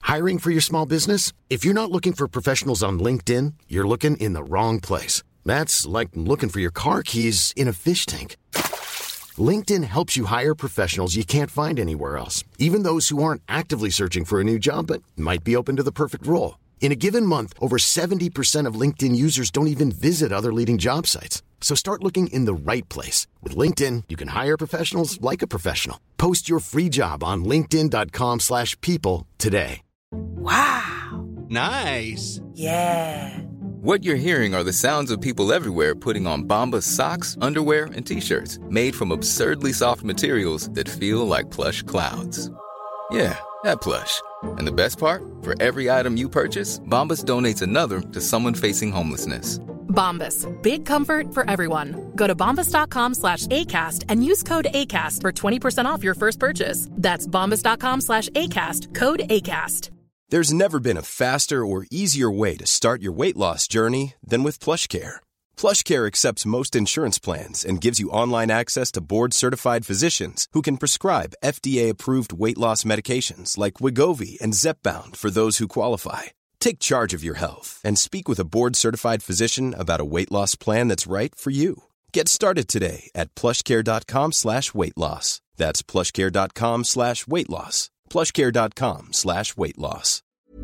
Hiring for your small business? If you're not looking for professionals on LinkedIn, you're looking in the wrong place. That's like looking for your car keys in a fish tank. LinkedIn helps you hire professionals you can't find anywhere else, even those who aren't actively searching for a new job but might be open to the perfect role. In a given month, over 70% of LinkedIn users don't even visit other leading job sites. So start looking in the right place. With LinkedIn, you can hire professionals like a professional. Post your free job on linkedin.com/people today. Wow. Nice. Yeah. What you're hearing are the sounds of people everywhere putting on Bombas socks, underwear, and T-shirts made from absurdly soft materials that feel like plush clouds. Yeah, that plush. And the best part? For every item you purchase, Bombas donates another to someone facing homelessness. Bombas. Big comfort for everyone. Go to bombas.com/ACAST and use code ACAST for 20% off your first purchase. That's bombas.com/ACAST. Code ACAST. There's never been a faster or easier way to start your weight loss journey than with PlushCare. PlushCare accepts most insurance plans and gives you online access to board-certified physicians who can prescribe FDA-approved weight loss medications like Wegovy and Zepbound for those who qualify. Take charge of your health and speak with a board-certified physician about a weight loss plan that's right for you. Get started today at plushcare.com/weight-loss. That's plushcare.com/weight-loss. plushcare.com/weight-loss.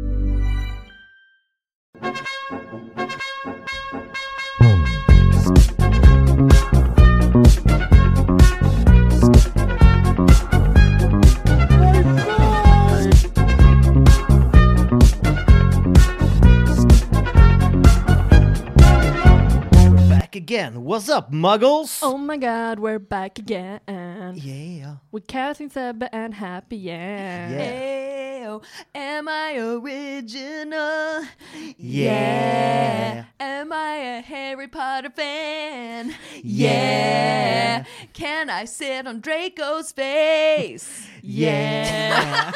Again, what's up, muggles? Oh my god, we're back again. Yeah. With Kathy, Sebbe, and Happy, yeah. Ayo, am I original? Yeah. Am I a Harry Potter fan? Yeah. Can I sit on Draco's face? Yeah.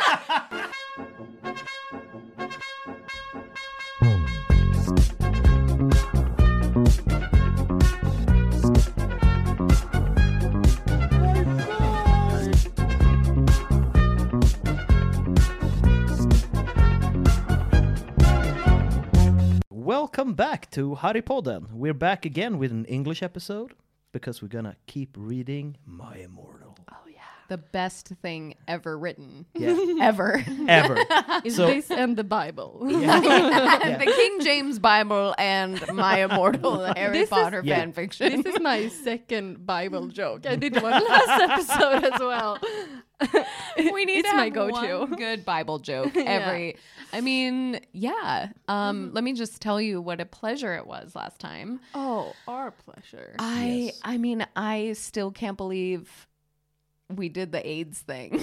Welcome back to Harrypodden. We're back again with an English episode because we're gonna keep reading My Immortal. Oh yeah. The best thing ever written. Yeah. Ever. Is this and the Bible? Yeah. The King James Bible and My Immortal Harry Potter fan fiction. This is my second Bible joke. I did one last episode as well. We need it's to my have go-to. one good Bible joke every. I mean, yeah. Let me just tell you what a pleasure it was last time. Oh, our pleasure. I mean, I still can't believe we did the AIDS thing.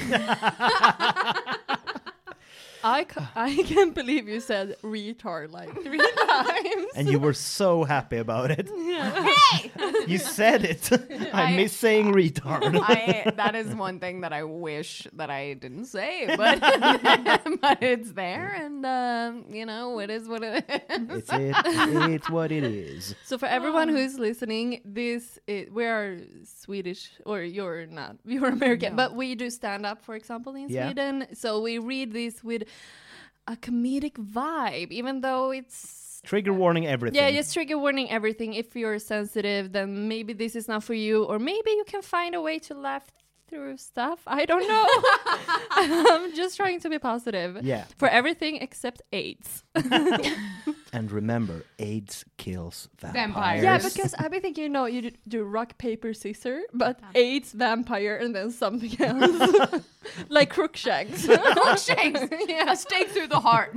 I can't believe you said retard like 3 times. And you were so happy about it. Yeah. Hey! You said it. I miss saying retard. That is one thing that I wish that I didn't say, but but it's there, and it is what it is. It's what it is. So for everyone who is listening, we are Swedish, or you're not. You're American, but we do stand up, for example, in Sweden. So we read this with a comedic vibe, even though it's trigger warning everything. Yeah, just trigger warning everything. If you're sensitive, then maybe this is not for you, or maybe you can find a way to laugh through stuff. I don't know. I'm just trying to be positive. Yeah. For everything except AIDS. And remember, AIDS kills vampires. Yeah, because I've been thinking, you do rock, paper, scissors, but AIDS, vampire, and then something else. Like Crookshanks. Crookshanks. Yeah. A stake through the heart.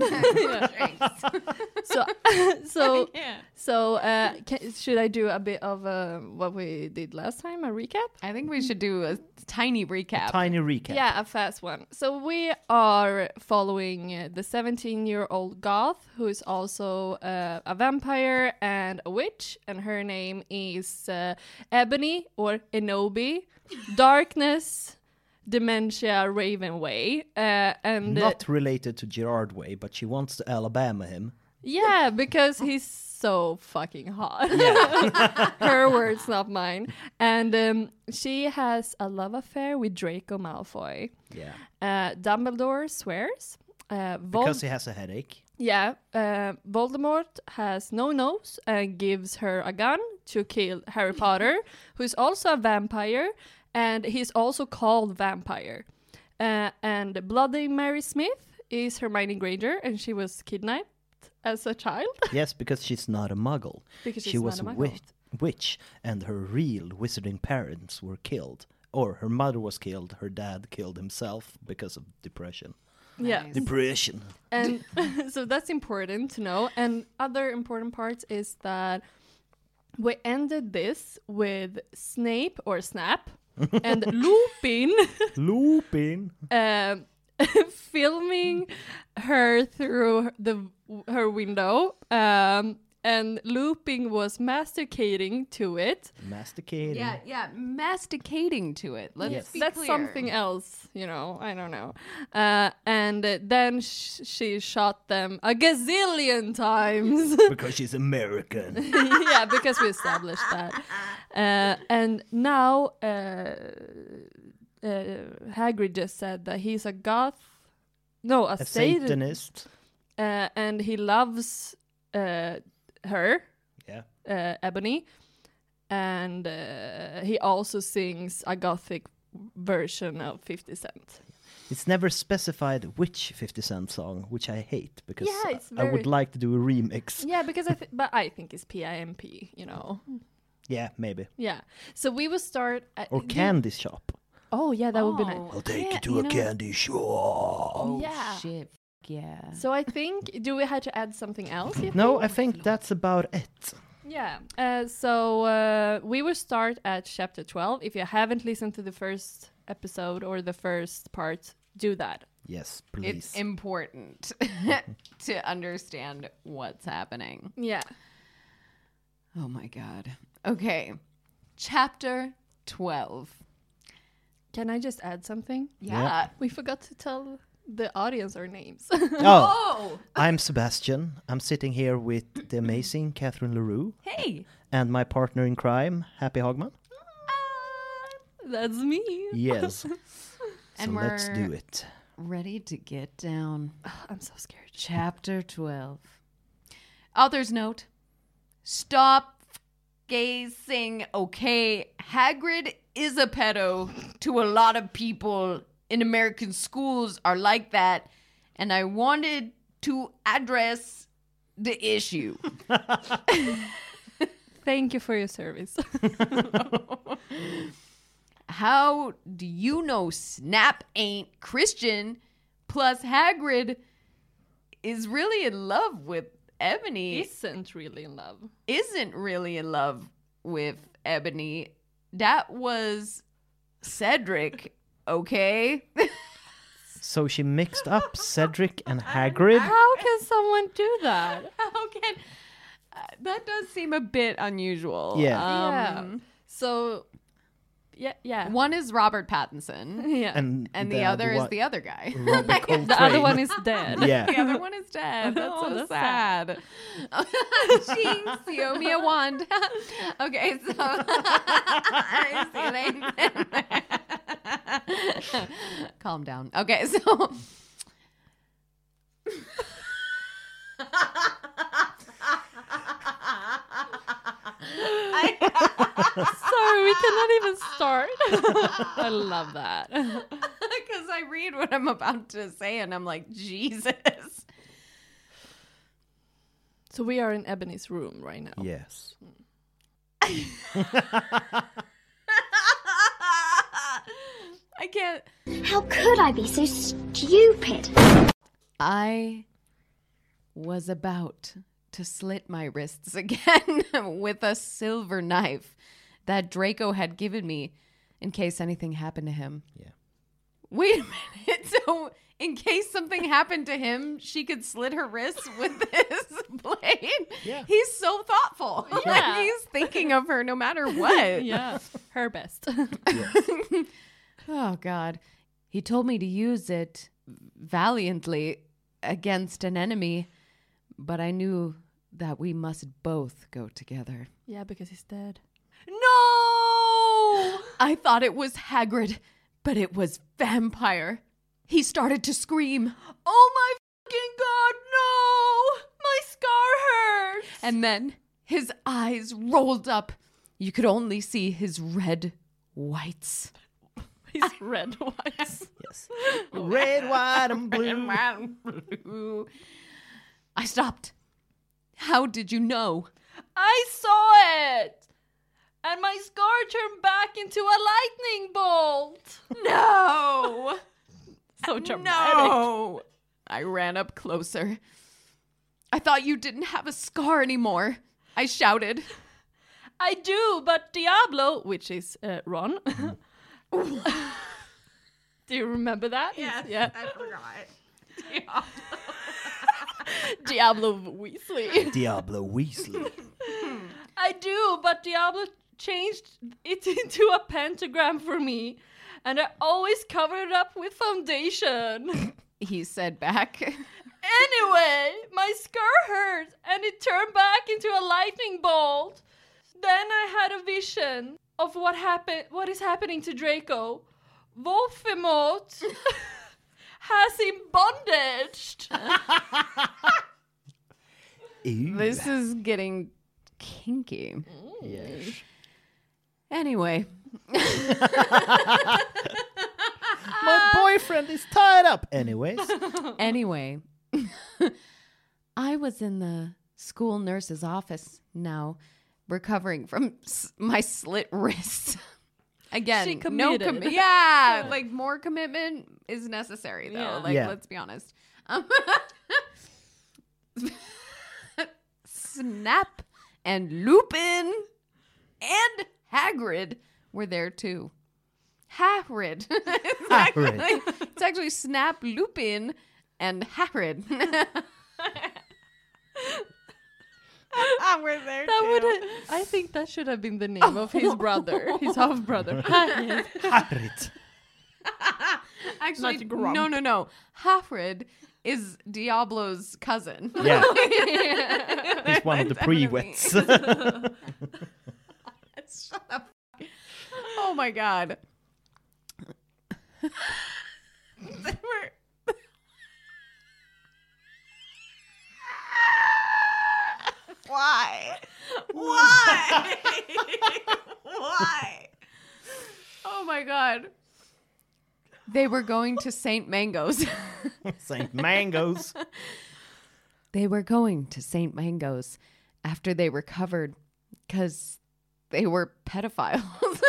Should I do a bit of what we did last time, a recap? I think we should do a tiny recap. Yeah, a fast one. So we are following the 17-year-old goth who is also a vampire and a witch, and her name is Ebony or Enobi, Darkness, Dementia, Ravenway, and not related to Gerard Way, but she wants to Alabama him. Yeah, because he's so fucking hot. Yeah. Her words, not mine. And she has a love affair with Draco Malfoy. Yeah. Dumbledore swears Because he has a headache. Yeah, Voldemort has no nose and gives her a gun to kill Harry Potter, who is also a vampire, and he's also called Vampire. And Bloody Mary Smith is Hermione Granger, and she was kidnapped as a child. Yes, because she's not a muggle. Because she she's was not a muggle. witch, and her real wizarding parents were killed. Or her mother was killed, her dad killed himself because of depression. Yeah. Nice. Depression. And so that's important to know. And other important parts is that we ended this with Snape or Snap and Lupin Lupin. filming her through her window. And Lupin was masticating to it. Masticating. Yeah, masticating to it. Let's Yes. be That's clear. something else, I don't know. And then she shot them a gazillion times. Because she's American. Yeah, because we established that. And now Hagrid just said that he's a goth. No, a A Satan. Satanist. And he loves her, Yeah. Ebony. And he also sings a gothic version of 50 Cent. It's never specified which 50 Cent song, which I hate because Yeah, it's I would very- like to do a remix. Yeah, because but I think it's PIMP, Yeah, maybe. Yeah. So we will start at Or Candy Shop. Oh yeah, that would be nice. Oh, Take yeah, you to a know- candy shop. Oh, Yeah. shit. Yeah. So I think, do we have to add something else? you No, think? I think that's about it. Yeah. So we will start at chapter 12. If you haven't listened to the first episode or the first part, do that. Yes, please. It's important to understand what's happening. Yeah. Oh my God. Okay. Chapter 12. Can I just add something? Yeah. We forgot to tell the audience our names. Oh, I'm Sebastian. I'm sitting here with the amazing Catherine LaRue Hey. and my partner in crime, Happy Hogman. That's me. Yes. And So let's we're- do it. Ready to get down. I'm so scared. Chapter 12. Author's note. Stop gazing. Okay, Hagrid is a pedo to a lot of people in American schools are like that. And I wanted to address the issue. Thank you for your service. How do you know Snap ain't Christian? Plus, Hagrid is really in love with Ebony. Isn't really in love. Isn't really in love with Ebony. That was Cedric, okay? So she mixed up Cedric and Hagrid. How can someone do that? How can... that does seem a bit unusual. Yeah. So, yeah. One is Robert Pattinson, Yeah. And the other is one- the other guy. Robert Coltrane. The other one is dead. Yeah. The other one is dead. That's Oh, so that's sad. Jinx, you owe me a wand. Okay, so calm down. Okay, so Sorry, we cannot even start. I love that. because I read what I'm about to say and I'm like, Jesus. So we are in Ebony's room right now. Yes. I can't. How could I be so stupid? I was about to slit my wrists again with a silver knife that Draco had given me in case anything happened to him. Yeah. Wait a minute. So, in case something happened to him, she could slit her wrists with this blade? Yeah. He's so thoughtful. Like, Yeah. he's thinking of her no matter what. Yeah, her best. Oh, God. He told me to use it valiantly against an enemy, but I knew that we must both go together. Yeah, because he's dead. No! I thought it was Hagrid, but it was Vampire. He started to scream. Oh my And then his eyes rolled up. You could only see his red whites. His red whites. Yes. Red, white, and blue. I stopped. How did you know? I saw it! And my scar turned back into a lightning bolt. No! So dramatic. No! I ran up closer. I thought you didn't have a scar anymore. I shouted. I do, but Diablo, which is Ron. Do you remember that? Yes, Yeah. I forgot. Diablo Weasley. Diablo Weasley. I do, but Diablo changed it into a pentagram for me, and I always covered it up with foundation. He said back. Anyway, my scar hurt, and it turned back into a lightning bolt. Then I had a vision of what is happening to Draco. Voldemort has him bondaged. This is getting kinky. Yes. Anyway. My boyfriend is tied up. Anyways. Anyway. I was in the school nurse's office now, recovering from my slit wrist. Again, She no committed. yeah, like more commitment is necessary though. Yeah. Like Yeah. let's be honest. Snap and Lupin and Hagrid were there too. Hagrid. It's actually Snap, Lupin, and Hagrid. We're there That too. would I think that should have been the name of his brother, his half brother. Hagrid. Actually, Not Grump. no. Hagrid is Diablo's cousin. Yeah. He's one of the That's pre-wets. Shut up. Oh my god. Why? Why? Why? Oh my god. They were going to St. Mango's. St. Mangoes. They were going to St. Mango's after they recovered because they were pedophiles.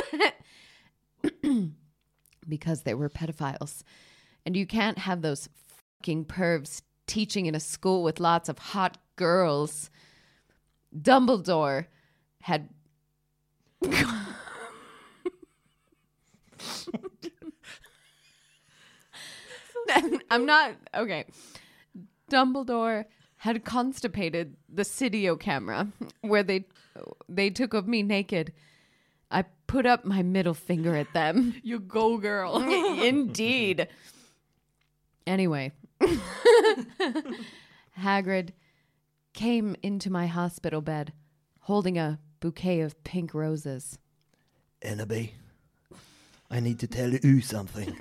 Because they were pedophiles. And you can't have those fucking pervs teaching in a school with lots of hot girls. Dumbledore had... I'm not... Okay. Dumbledore had constipated the Cydio camera where they took of me naked. I put up my middle finger at them. You go, girl. Indeed. Anyway, Hagrid came into my hospital bed holding a bouquet of pink roses. Ennaby, I need to tell you something.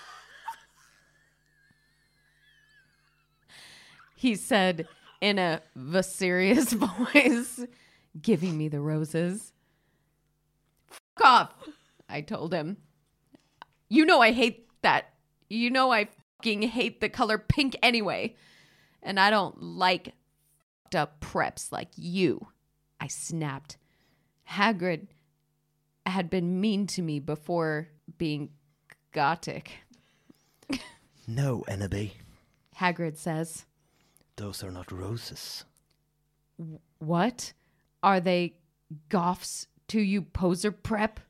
He said in a serious voice, giving me the roses. Fuck off, I told him. You know I hate that. You know I fucking hate the color pink anyway. And I don't like fucked up preps like you. I snapped. Hagrid had been mean to me before being gothic. No, Ennaby, Hagrid says. those are not roses. What? Are they goths to you, poser prep?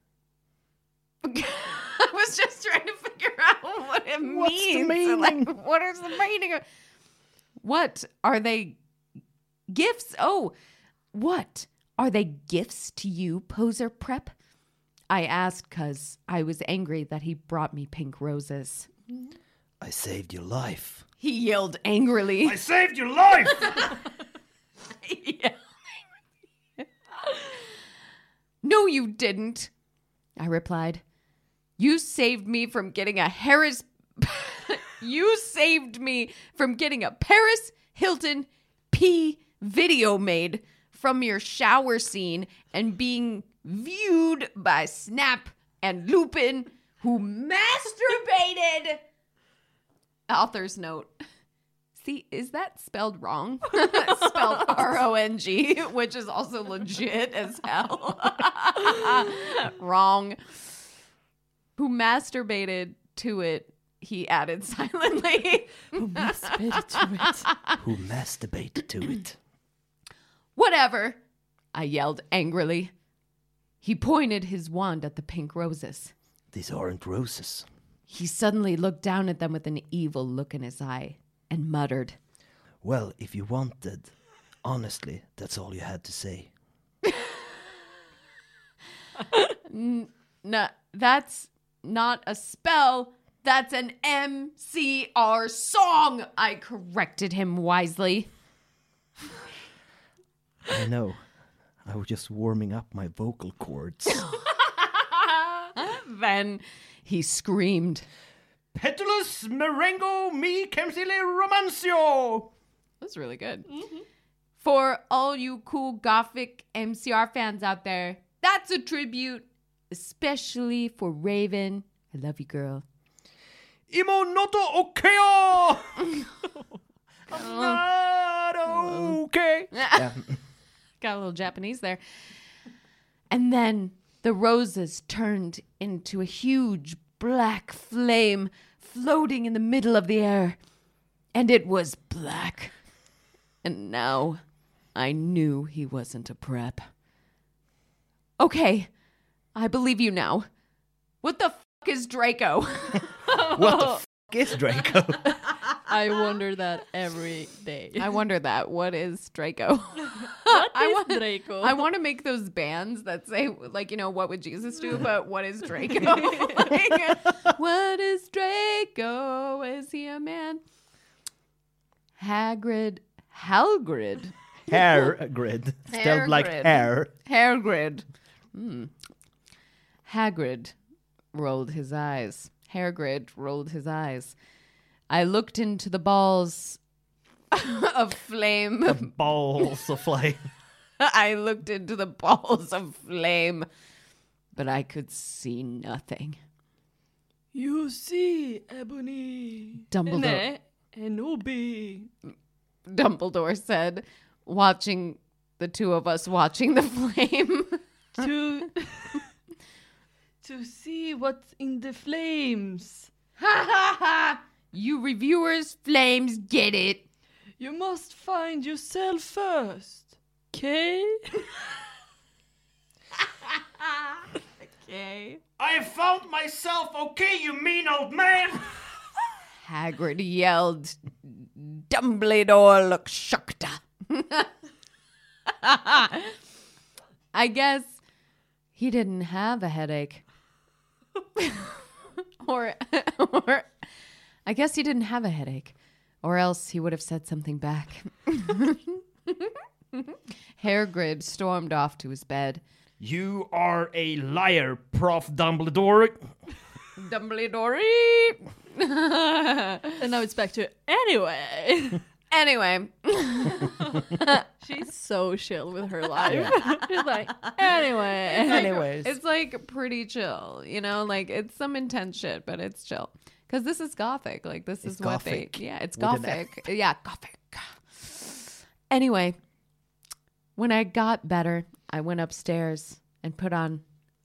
I was just trying to figure out what it What's the means. meaning? Like, what is the meaning of... What? Are they gifts? Oh, what? Are they gifts to you, poser prep? I asked because I was angry that he brought me pink roses. I saved your life. He yelled angrily. I saved your life! No, you didn't, I replied. You saved me from getting a Harris... You saved me from getting a Paris Hilton video made from your shower scene and being viewed by Snap and Lupin, who masturbated. Author's note. See, is that spelled wrong? Spelled R-O-N-G, which is also legit as hell. Wrong. Who masturbated to it, he added silently. Who masturbated to it? Who masturbated to it? Whatever, I yelled angrily. He pointed his wand at the pink roses. These aren't roses. He suddenly looked down at them with an evil look in his eye and muttered, Well, if you wanted, honestly, that's all you had to say. No, that's not a spell. That's an MCR song, I corrected him wisely. I know. I was just warming up my vocal cords. Then he screamed, Petulus merengo mi camsile romancio. That's really good. Mm-hmm. For all you cool gothic MCR fans out there, that's a tribute, especially for Raven. I love you, girl. Imo noto okeo. Not okay. Yeah. Got a little Japanese there. And then the roses turned into a huge black flame floating in the middle of the air. And it was black. And now I knew he wasn't a prep. Okay, I believe you now. What the fuck is Draco? What the fuck is Draco? I wonder that every day. I wonder that. What is Draco? What is Draco? I want to make those bands that say, like, you know, what would Jesus do? But what is Draco? Like, what is Draco? Is he a man? Halgrid. Hair grid. Spelled like hair. Hairgrid. Hagrid rolled his eyes. Hairgrid rolled his eyes. I looked into the balls of flame. The balls of flame. I looked into the balls of flame, but I could see nothing. You see, Ebony. Dumbledore. Dumbledore said, watching the two of us watching the flame. To see what's in the flames. Ha ha ha! You reviewers, flames, get it. You must find yourself first. Okay? Okay. I found myself, okay, you mean old man? Hagrid yelled. Dumbledore looked shocked. I guess he didn't have a headache. or I guess he didn't have a headache. Or else he would have said something back. Hagrid stormed off to his bed. You are a liar, Prof. Dumbledore. Dumbledore. And now it's back to anyway. Anyway. She's so chill with her life. She's like, anyway. Anyways. It's like pretty chill, you know? Like, it's some intense shit, but it's chill. Because this is gothic. Like, this is what gothic. they... Yeah, it's With an gothic. Yeah, gothic. Anyway, when I got better, I went upstairs and put on...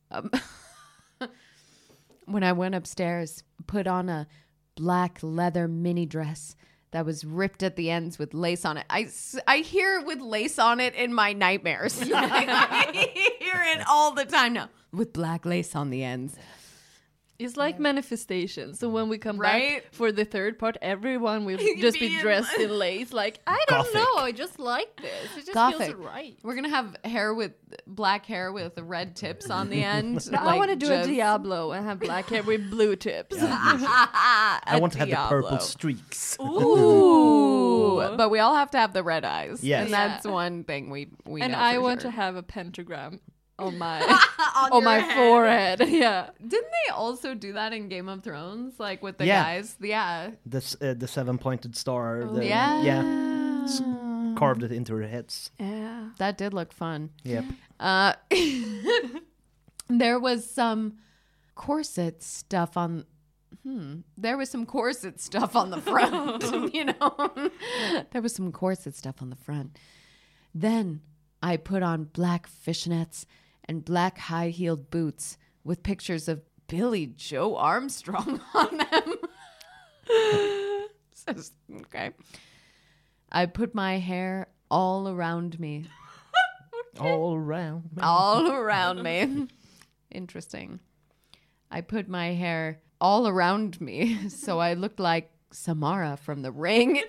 when I went upstairs, put on a black leather mini dress that was ripped at the ends with lace on it. I hear with lace on it in my nightmares. I hear it all the time now. With black lace on the ends. It's like manifestation. So when we come Right? back for the third part, everyone will just be dressed in lace. Like, I don't Gothic. know. I just like this. It just Gothic. feels right. We're going to have black hair with red tips on the end. No, I want to do a Diablo and have black hair with blue tips. I want to have the Diablo. purple streaks. Ooh. But we all have to have the red eyes. Yes. And that's one thing we And know I for want sure. to have a pentagram on my on on my your head. forehead. Yeah. Didn't they also do that in Game of Thrones? Like with the Yeah. guys? Yeah. The 7-pointed star. The, Yeah. Yeah. carved it into their heads. Yeah. That did look fun. Yep. There was some corset stuff on... There was some corset stuff on the front, you know? There was some corset stuff on the front. Then I put on black fishnets and black high-heeled boots with pictures of Billy Joe Armstrong on them. Okay. I put my hair all around me. All around me. All around me. Interesting. I put my hair all around me so I looked like Samara from The Ring.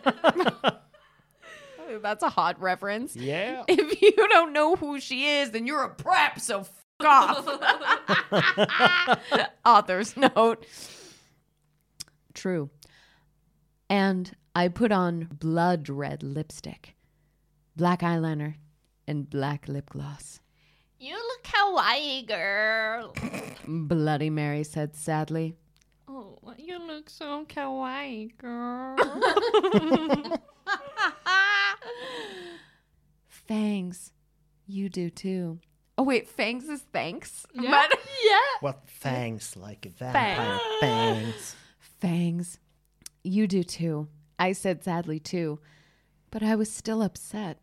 That's a hot reference. Yeah. If you don't know who she is, then you're a prep, so off. Author's note. True. And I put on blood red lipstick, black eyeliner, and black lip gloss. You look kawaii, girl. Bloody Mary said sadly. Oh, you look so kawaii, girl. Fangs, you do too. Oh wait, fangs is thanks? Yeah. What fangs, like a vampire fangs. Fangs, you do too. I said sadly too, but I was still upset.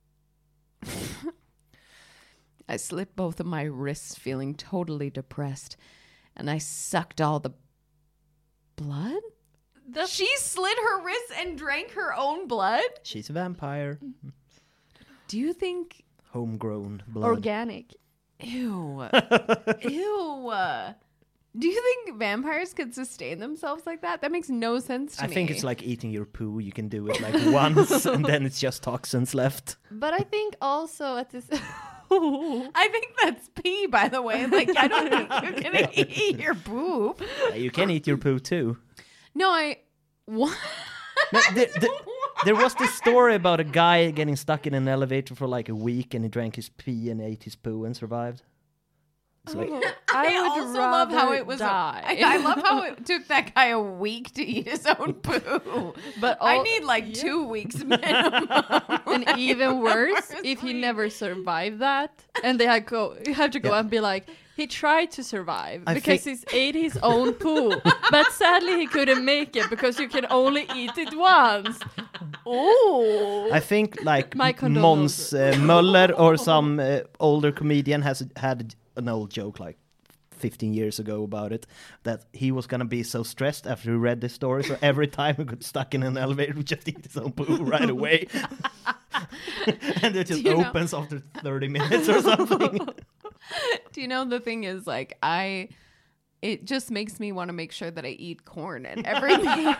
I slit both of my wrists, feeling totally depressed, and I sucked all the blood? She slit her wrists and drank her own blood? She's a vampire. Do you think... Homegrown blood. Organic. Ew. Ew. Do you think vampires could sustain themselves like that? That makes no sense to me. I think it's like eating your poo. You can do it like once, and then it's just toxins left. But I think also at this... I think that's pee, by the way. Like, I don't think you can eat your poop. You can eat your poo too. No, what? No, there was this story about a guy getting stuck in an elevator for like a week, and he drank his pee and ate his poo and survived. It's like, I would also love how rather it was. die. I love how it took that guy a week to eat his own poo. But I need like 2 weeks minimum. And even worse, if he never survived that, and they have to go and be like, he tried to survive because he ate his own poo, but sadly he couldn't make it because you can only eat it once. Oh, I think like My Måns condolences. Möller or some older comedian has had an old joke like 15 years ago about it, that he was gonna be so stressed after he read this story, so every time he got stuck in an elevator he would just eat his own poo right away. And it just opens after 30 minutes or something. Do you know, the thing is, like, it just makes me want to make sure that I eat corn at every meal.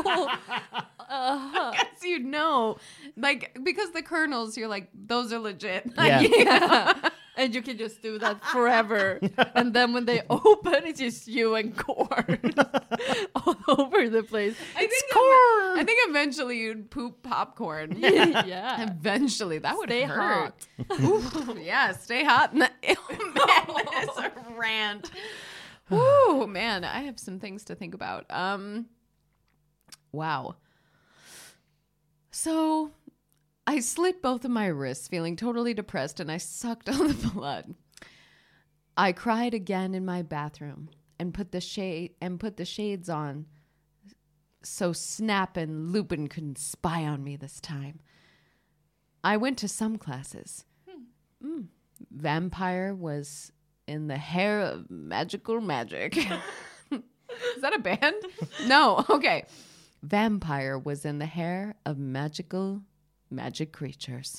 Because you know, like, because the kernels, you're like, those are legit. Yeah. And you can just do that forever. And then when they open, it's just you and corn all over the place. I think eventually you'd poop popcorn. Yeah. Eventually, that would Stay hurt. Oof, yeah, stay hot. Oh, man, that's a rant. Ooh, man, I have some things to think about. Wow. So I slit both of my wrists, feeling totally depressed, and I sucked all the blood. I cried again in my bathroom and put the shades on so Snap and Lupin couldn't spy on me this time. I went to some classes. Vampire was in the hair of magical magic. Is that a band? No. Okay. Vampire was in the hair of magic creatures.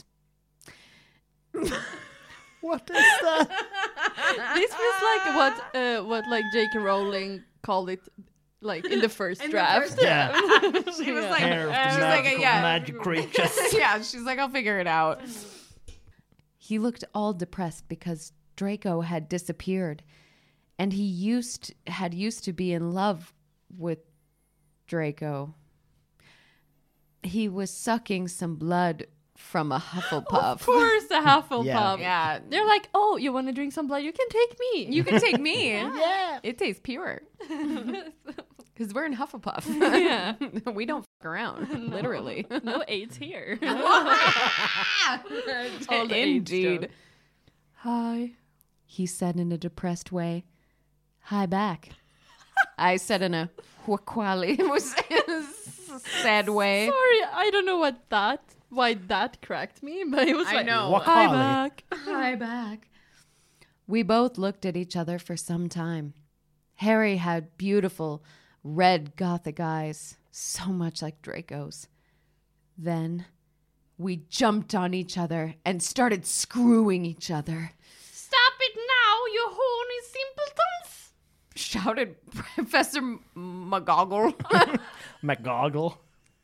What is that? This was like what like J.K. Rowling called it, like in the first draft. Yeah. She was like, Hair of the she's like, magical yeah. magic creatures. Yeah, she's like, I'll figure it out. He looked all depressed because Draco had disappeared, and he used to be in love with Draco. He was sucking some blood from a Hufflepuff. Of course, a Hufflepuff. Yeah. They're like, oh, you want to drink some blood? You can take me. You can take me. Yeah. It tastes pure. Because we're in Hufflepuff. Yeah. We don't fuck around, literally. No AIDS here. All the AIDS Indeed. joke. Hi. He said in a depressed way, "Hi back." I said in a whakwali, sad way. Sorry, I don't know why that cracked me, but it was I like, know. hi Whakwali. back. Hi back. We both looked at each other for some time. Harry had beautiful red gothic eyes, so much like Draco's. Then we jumped on each other and started screwing each other. Stop it now, you horny simpletons! Shouted Professor McGoggle. McGoggle.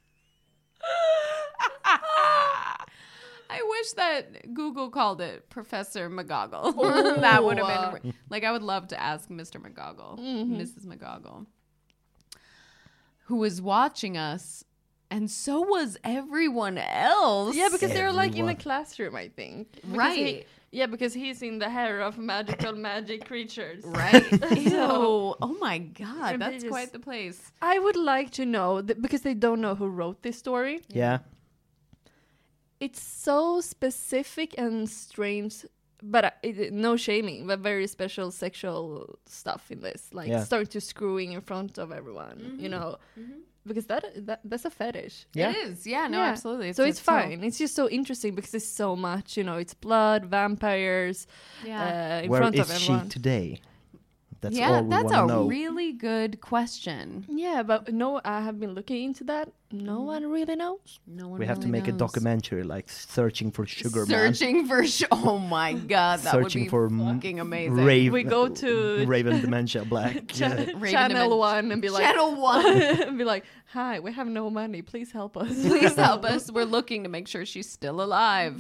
I wish that Google called it Professor McGoggle. That would have been like, I would love to ask Mr. McGoggle, Mrs. McGoggle, who was watching us, and so was everyone else. Yeah, because they're like in a Everyone. classroom, I think. Because Right. because he's in the hair of magic creatures. Right. Ew. Oh my God, And they that's just- quite the place. I would like to know, because they don't know who wrote this story. Yeah. It's so specific and strange, but no shaming, but very special sexual stuff in this. Like Yeah. start to screwing in front of everyone, you know, because that's a fetish. Yeah. It is. Yeah, no, Yeah. absolutely. So it's fine. It's just so interesting because there's so much, you know, it's blood, vampires, in Where front is of she everyone. today? That's yeah, all we that's want to a know. really good question. Yeah, but no, I have been looking into that. No one really knows. No one We have to really make a knows. documentary, like searching for Sugar Man. Searching for oh my God, that Searching would be for fucking amazing. We go to Raven Dementia Black. Cha- Yeah. Channel 1 and be like, Channel 1. and be like, hi, we have no money. Please help us. Please help us. We're looking to make sure she's still alive.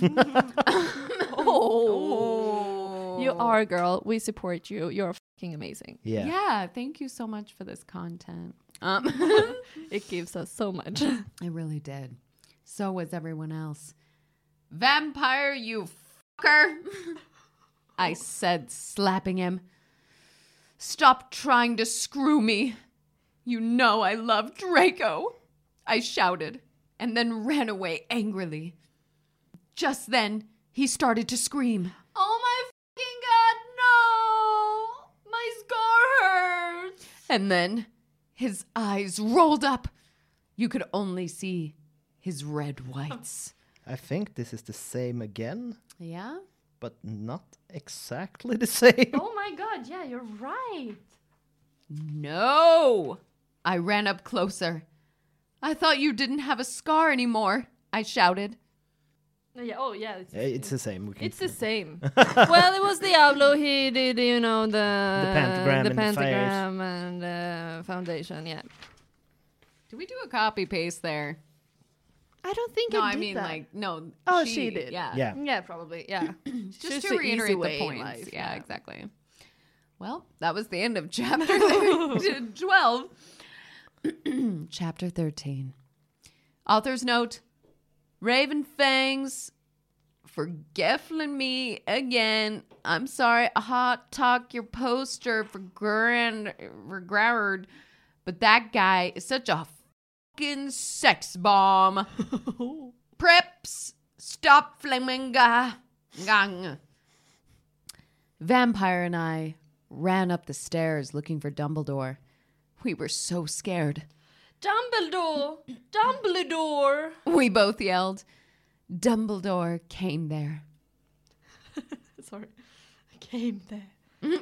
Oh. You are a girl. We support you. You're fucking amazing. Yeah. Yeah, thank you so much for this content. It gives us so much. It really did. So was everyone else. Vampire, you fucker. I said, slapping him. Stop trying to screw me. You know I love Draco. I shouted and then ran away angrily. Just then, he started to scream. Oh my fucking God, no! My scar hurts! And then his eyes rolled up. You could only see his red whites. I think this is the same again, Yeah? but not exactly the same. Oh my God. Yeah, you're right. No! I ran up closer. I thought you didn't have a scar anymore, I shouted. Yeah. Oh, yeah. It's the same. We can It's the same. Well, it was Diablo. He did, you know, the pentagram and the pentagram and foundation. Yeah. Did we do a copy paste there? I don't think No, I I did mean, that. like, no. Oh, she did. Yeah. Yeah. Yeah, probably. Yeah. Just to the reiterate easy the way in points. life, Yeah, exactly. Well, that was the end of chapter 12. Chapter 13. Author's note. Raven Fangs for geffling me again. I'm sorry, I hot talk your poster for Groward, but that guy is such a fucking sex bomb. Preps, stop flaminga. Gang. Vampire and I ran up the stairs looking for Dumbledore. We were so scared. Dumbledore! Dumbledore! We both yelled. Dumbledore came there. Sorry. I came there.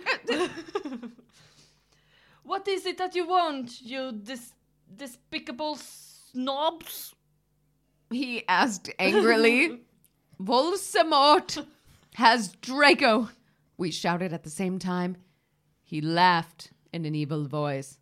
What is it that you want, you despicable snobs? He asked angrily. Voldemort has Draco. We shouted at the same time. He laughed in an evil voice.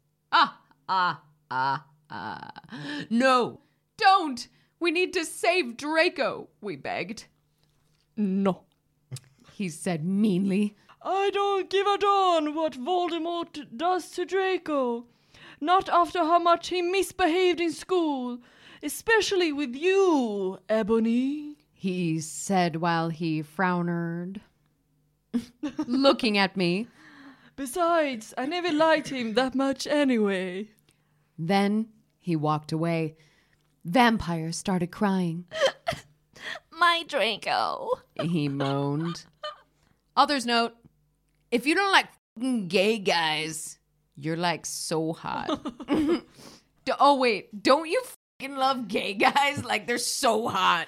No, don't. We need to save Draco, we begged. No. He said meanly. I don't give a darn what Voldemort does to Draco. Not after how much he misbehaved in school. Especially with you, Ebony. He said while he frowned, looking at me. Besides, I never liked him that much anyway. Then he walked away. Vampire started crying. My Draco. He moaned. Author's note, if you don't like f***ing gay guys, you're like so hot. Oh, wait, don't you f***ing love gay guys? Like they're so hot.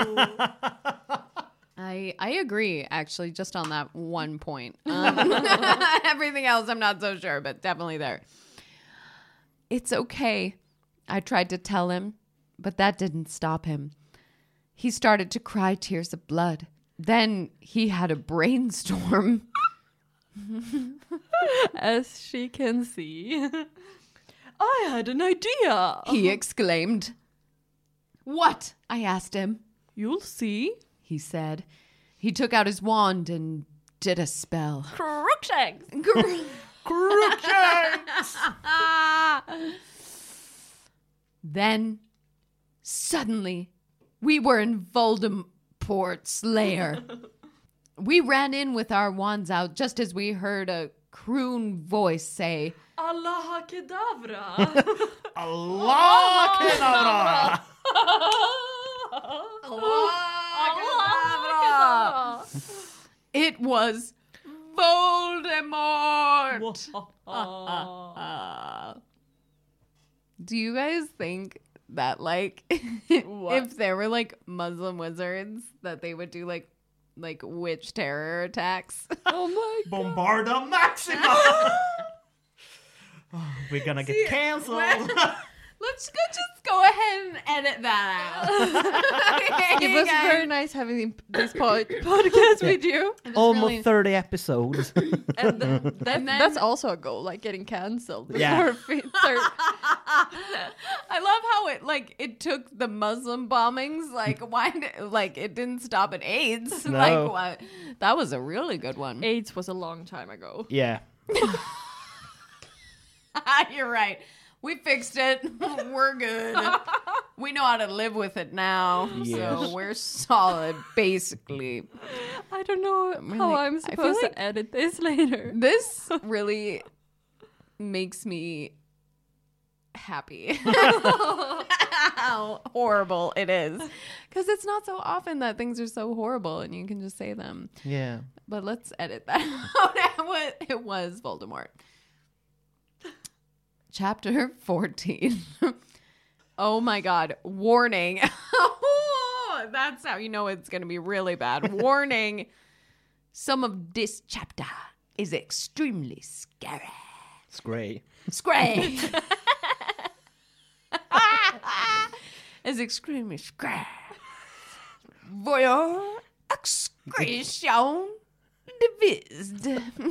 I agree, actually, just on that one point. Everything else, I'm not so sure, but definitely there. It's okay, I tried to tell him, but that didn't stop him. He started to cry tears of blood. Then he had a brainstorm. As she can see. I had an idea. He exclaimed. What? I asked him. You'll see, he said. He took out his wand and did a spell. Crookshanks. Crookshanks! Then, suddenly, we were in Voldemort's lair. We ran in with our wands out just as we heard a croon voice say, Allah Kedavra. Allah Kedavra! It was Voldemort. Do you guys think that, like, if there were, like, Muslim wizards, that they would do, like witch terror attacks? Oh my God. Bombarda Maxima! Oh, we're gonna get cancelled. Let's just go ahead and edit that out. It was very nice having this podcast with you. Almost really- 30 episodes. And then, then- that's also a goal, like getting cancelled. Yeah. I love how it took the Muslim bombings. Like, it didn't stop at AIDS. No. Like, what? That was a really good one. AIDS was a long time ago. Yeah. You're right. We fixed it. We're good. We know how to live with it now. Yes. So we're solid, basically. I don't know how I'm I feel supposed like- to edit this later. This really makes me happy. How horrible it is. Because it's not so often that things are so horrible and you can just say them. Yeah. But let's edit that out. It was Voldemort. Chapter 14. Oh my God. Warning. That's how you know it's going to be really bad. Warning. Some of this chapter is extremely scary. It's great. Scary. It's extremely scary. Voyeur excretion devised.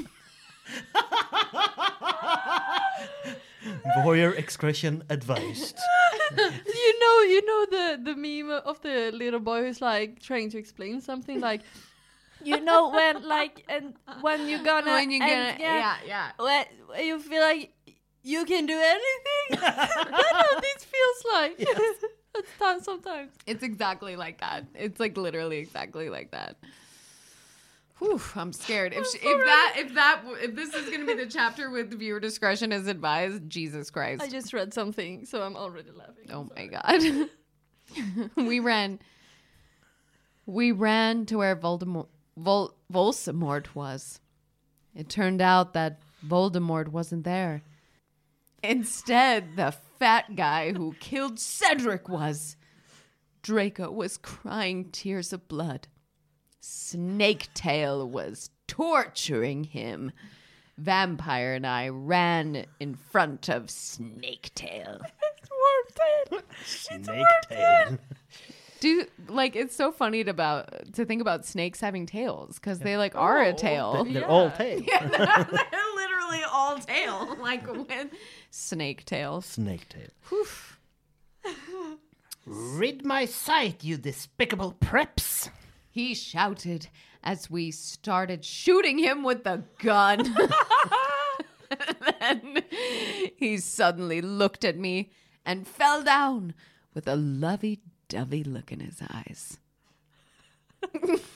Voyeur expression advised. You know the meme of the little boy who's like trying to explain something like, when you're gonna Yeah. when you feel like you can do anything. That's how this feels like. Yes. That's sometimes. It's exactly like that. It's like literally exactly like that. Whew, I'm scared. If this is gonna be the chapter with viewer discretion is advised, Jesus Christ. I just read something, so I'm already laughing. Oh my God. We ran to where Voldemort was. It turned out that Voldemort wasn't there. Instead, the fat guy who killed Cedric was. Draco was crying tears of blood. Snaketail was torturing him. Vampire and I ran in front of Snaketail. Snaketail. It's so funny to think about snakes having tails because they are a tail. They're all tails. Yeah, they're literally all tail. Like when Snaketail. Snaketail. Rid my sight, you despicable preps. He shouted as we started shooting him with the gun. Then he suddenly looked at me and fell down with a lovey-dovey look in his eyes. How do you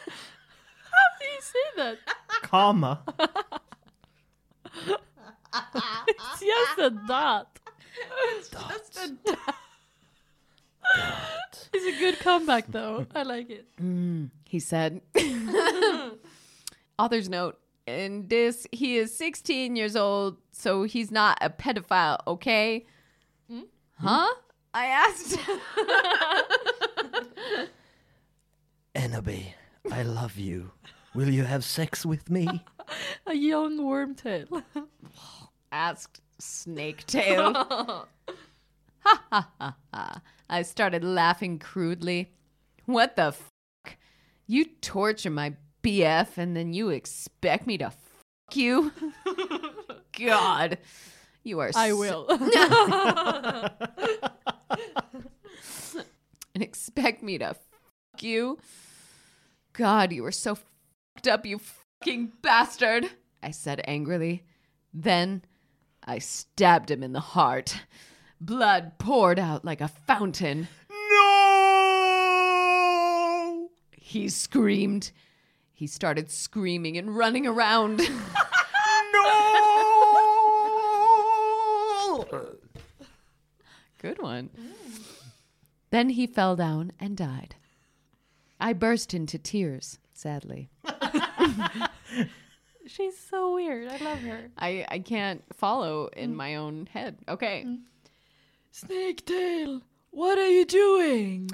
say that? Comma. It's just a dot. It's a good comeback, though. I like it. He said. Author's note. In this, he is 16 years old, so he's not a pedophile, okay? Huh? I asked. Enobe, I love you. Will you have sex with me? A young wormtail. Asked Snaketail. Ha ha ha ha. I started laughing crudely. What the fuck? You torture my BF and then you expect me to fuck you? God. You are I will. And expect me to fuck you? God, you are so fucked up, you fucking bastard, I said angrily. Then I stabbed him in the heart. Blood poured out like a fountain. No! He screamed. He started screaming and running around. No! Good one. Then he fell down and died. I burst into tears, sadly. She's so weird. I love her. I can't follow in my own head. Okay. Snaketail, what are you doing?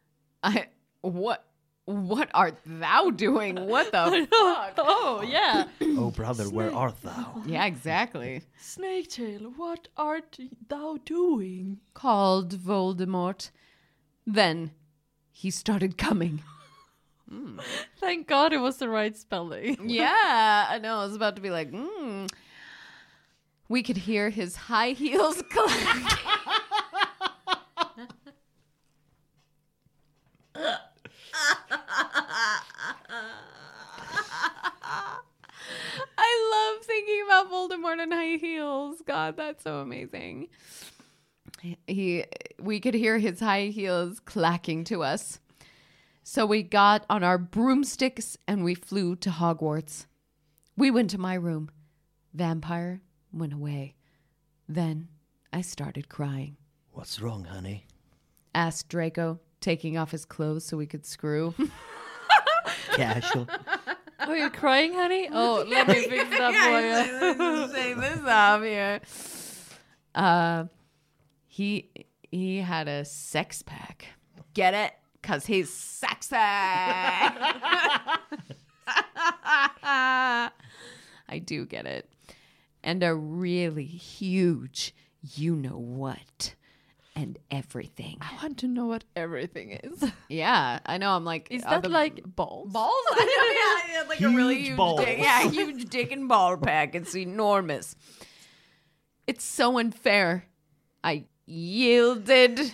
What art thou doing? What the fuck? Oh, yeah. Oh, brother, where art thou? Yeah, exactly. Snaketail, what art thou doing? Called Voldemort. Then he started coming. Thank God it was the right spelling. Yeah, I know. I was about to be like, We could hear his high heels clack. I love thinking about Voldemort and high heels. God, that's so amazing. We could hear his high heels clacking to us. So we got on our broomsticks and we flew to Hogwarts. We went to my room. Vampire went away. Then I started crying. What's wrong, honey? Asked Draco, taking off his clothes so we could screw. Casual. Oh, you're crying, honey? Oh, let me fix that for you. Let's take this off here. He had a sex pack. Get it? 'Cause he's sexy. I do get it. And a really huge you-know-what and everything. I want to know what everything is. Yeah, I know. I'm like... Is that like balls? Balls? I know, yeah, like a really Huge huge balls. dick. Yeah, huge dick and ball pack. It's enormous. It's so unfair. I yielded.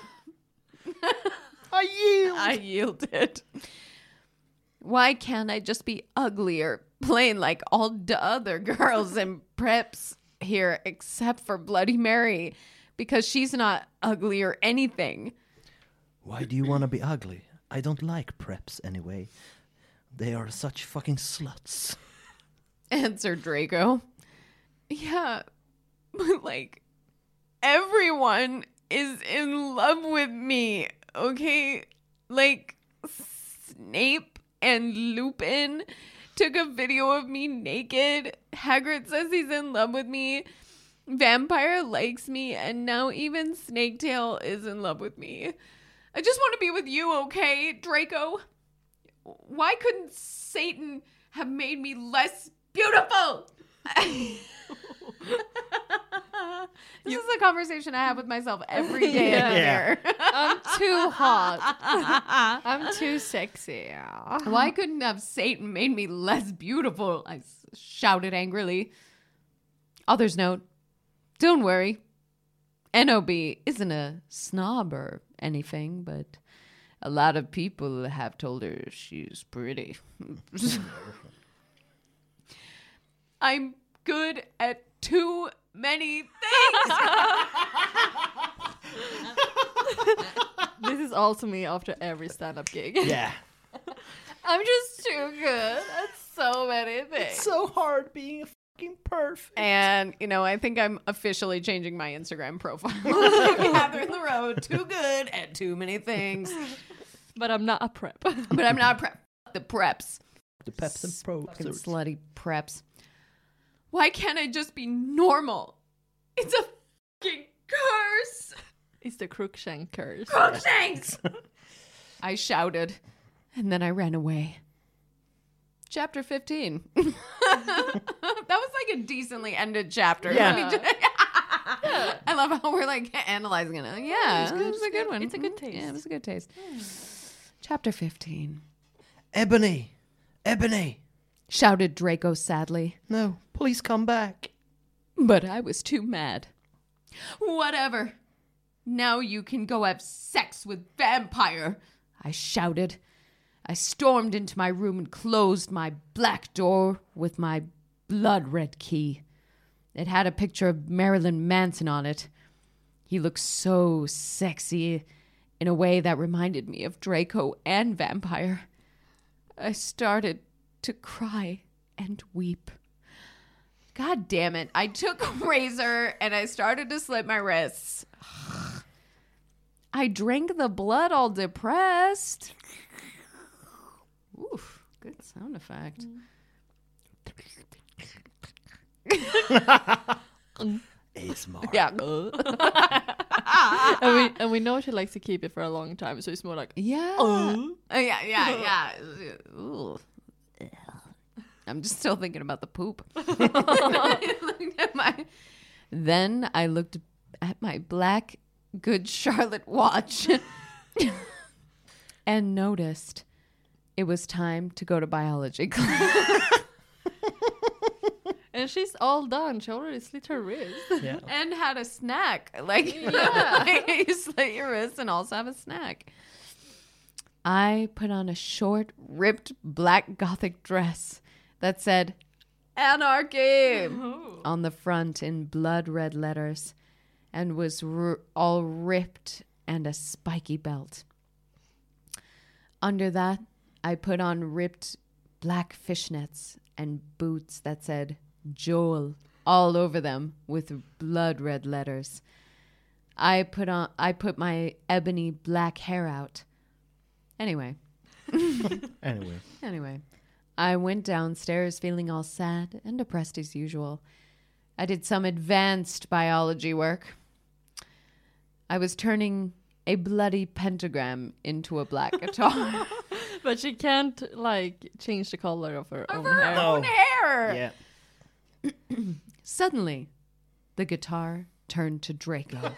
I yielded. Why can't I just be ugly or plain like all the other girls in preps here except for Bloody Mary? Because she's not ugly or anything. Why do you want to be ugly? I don't like preps anyway. They are such fucking sluts. Answered Draco. Yeah, but like, everyone is in love with me, okay? Like, Snape and Lupin took a video of me naked. Hagrid says he's in love with me. Vampire likes me, and now even Snaketail is in love with me. I just want to be with you, okay, Draco? Why couldn't Satan have made me less beautiful? This is a conversation I have with myself every day in the mirror. I'm too hot. I'm too sexy. Why couldn't have Satan made me less beautiful? I shouted angrily. Author's note. Don't worry. Enobe isn't a snob or anything, but a lot of people have told her she's pretty. I'm good at too many things. This is also me after every stand-up gig. Yeah. I'm just too good at so many things. It's so hard being a fucking perfect. And, I think I'm officially changing my Instagram profile. Catherine LaRoe, too good at too many things. But I'm not a prep. But I'm not a prep. Fuck the preps. The Peps and Pro. Fucking slutty preps. Why can't I just be normal? It's a fucking curse. It's the Crookshank curse. Crookshanks! I shouted, and then I ran away. Chapter 15. That was like a decently ended chapter. Yeah. I love how we're like analyzing it. Yeah, it was a good one. It's a good taste. Yeah, it was a good taste. Chapter 15. Ebony, Shouted Draco sadly. no, please come back. But I was too mad. Whatever. Now you can go have sex with vampire, I shouted. I stormed into my room and closed my black door with my blood red key. It had a picture of Marilyn Manson on it. He looked so sexy in a way that reminded me of Draco and vampire. I started to cry and weep. God damn it. I took a razor and I started to slit my wrists. I drank the blood all depressed. Oof, good sound effect. ASMR. Yeah. and we know she likes to keep it for a long time, so it's more like Yeah. Yeah. Ooh. I'm just still thinking about the poop. Then I looked at my black Good Charlotte watch and noticed it was time to go to biology class. and she's all done. She already slit her wrist. Yeah. And had a snack. Like, you slit your wrist and also have a snack. I put on a short, ripped black gothic dress that said, Anarchy, on the front in blood red letters, and was all ripped and a spiky belt. Under that, I put on ripped black fishnets and boots that said Joel all over them with blood red letters. I put my ebony black hair out. Anyway, I went downstairs feeling all sad and depressed as usual. I did some advanced biology work. I was turning a bloody pentagram into a black guitar. But she can't change the color of her own hair. Own hair. Yeah. Suddenly, the guitar turned to Draco.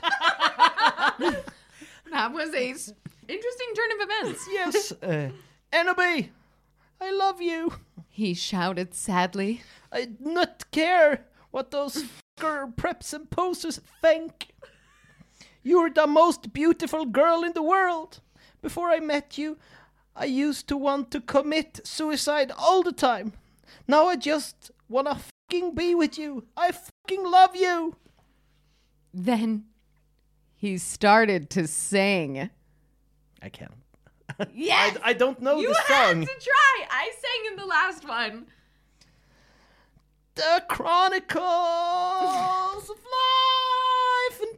That was a interesting turn of events. Yes. Enemy, I love you. He shouted sadly. I not care what those fucker preps and posters think. You're the most beautiful girl in the world. Before I met you, I used to want to commit suicide all the time. Now I just wanna fucking be with you. I fucking love you. Then he started to sing. I can't. Yes! I don't know You the had song. to try! I sang in the last one. The Chronicles of Life and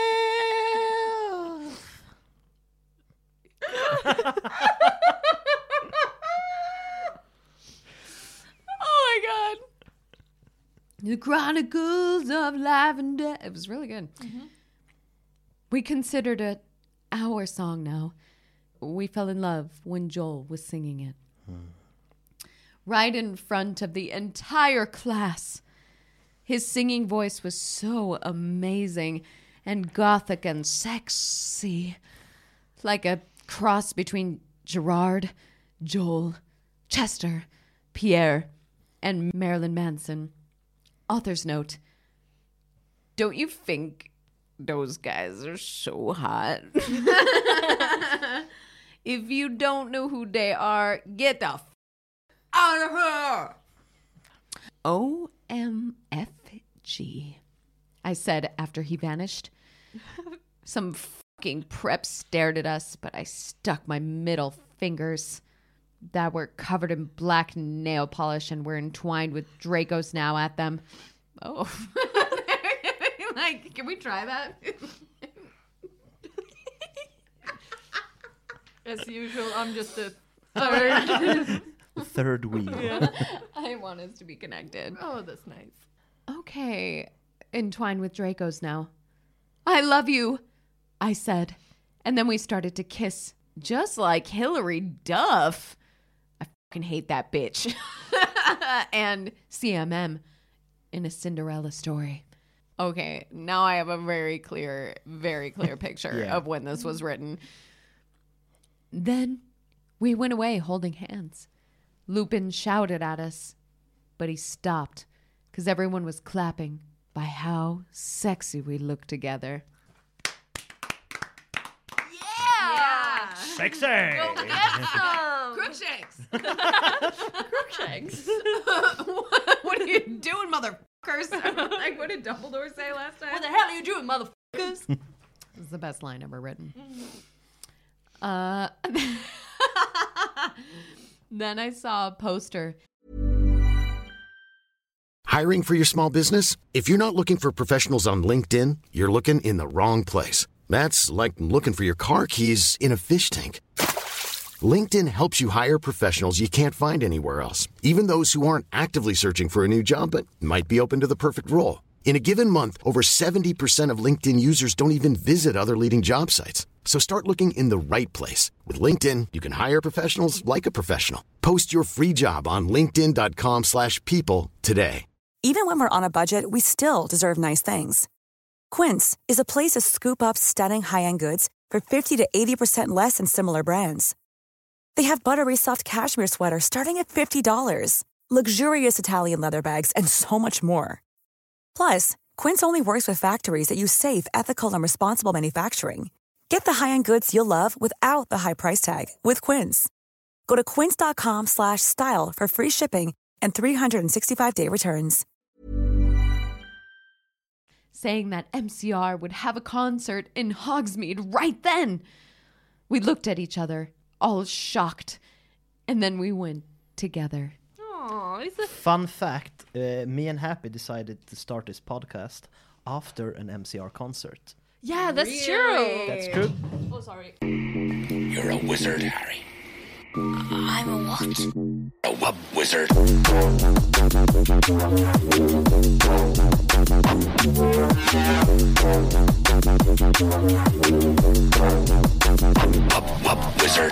Death. Oh my god. The Chronicles of Life and Death. It was really good. Mm-hmm. We considered it our song now. We fell in love when Joel was singing it. Right in front of the entire class. His singing voice was so amazing and gothic and sexy. Like a cross between Gerard, Joel, Chester, Pierre, and Marilyn Manson. Author's note. Don't you think those guys are so hot? If you don't know who they are, get the out of here. OMFG, I said after he vanished. Some fucking prep stared at us, but I stuck my middle fingers. that were covered in black nail polish and were entwined with Dracos now at them. Oh. Like, can we try that? As usual, I'm just a Third wheel. I want us to be connected. Oh, that's nice. Okay, entwined with Dracos now. I love you, I said. And then we started to kiss, just like Hillary Duff. I fucking hate that bitch. And CMM in A Cinderella Story. Okay, now I have a very clear picture of when this was written. Then we went away holding hands. Lupin shouted at us, but he stopped because everyone was clapping by how sexy we looked together. Yeah! Sexy! Crookshanks! Crookshanks? What are you doing, motherfuckers? Like, what did Dumbledore say last time? What the hell are you doing, motherfuckers? This is the best line ever written. Then I saw a poster. Hiring for your small business? If you're not looking for professionals on LinkedIn, you're looking in the wrong place. That's like looking for your car keys in a fish tank. LinkedIn helps you hire professionals you can't find anywhere else, even those who aren't actively searching for a new job but might be open to the perfect role. In a given month, over 70% of LinkedIn users don't even visit other leading job sites. So start looking in the right place. With LinkedIn, you can hire professionals like a professional. Post your free job on linkedin.com/people today. Even when we're on a budget, we still deserve nice things. Quince is a place to scoop up stunning high-end goods for 50 to 80% less than similar brands. They have buttery soft cashmere sweaters starting at $50, luxurious Italian leather bags, and so much more. Plus, Quince only works with factories that use safe, ethical, and responsible manufacturing. Get the high-end goods you'll love without the high price tag with Quince. Go to quince.com/style for free shipping and 365-day returns. Saying that MCR would have a concert in Hogsmeade right then. We looked at each other, all shocked, and then we went together. Oh, it's a Fun fact, me and Happy decided to start this podcast after an MCR concert. yeah, that's true. That's true. Oh, sorry. You're a wizard, Harry. I'm a what? A wizard. Wizard.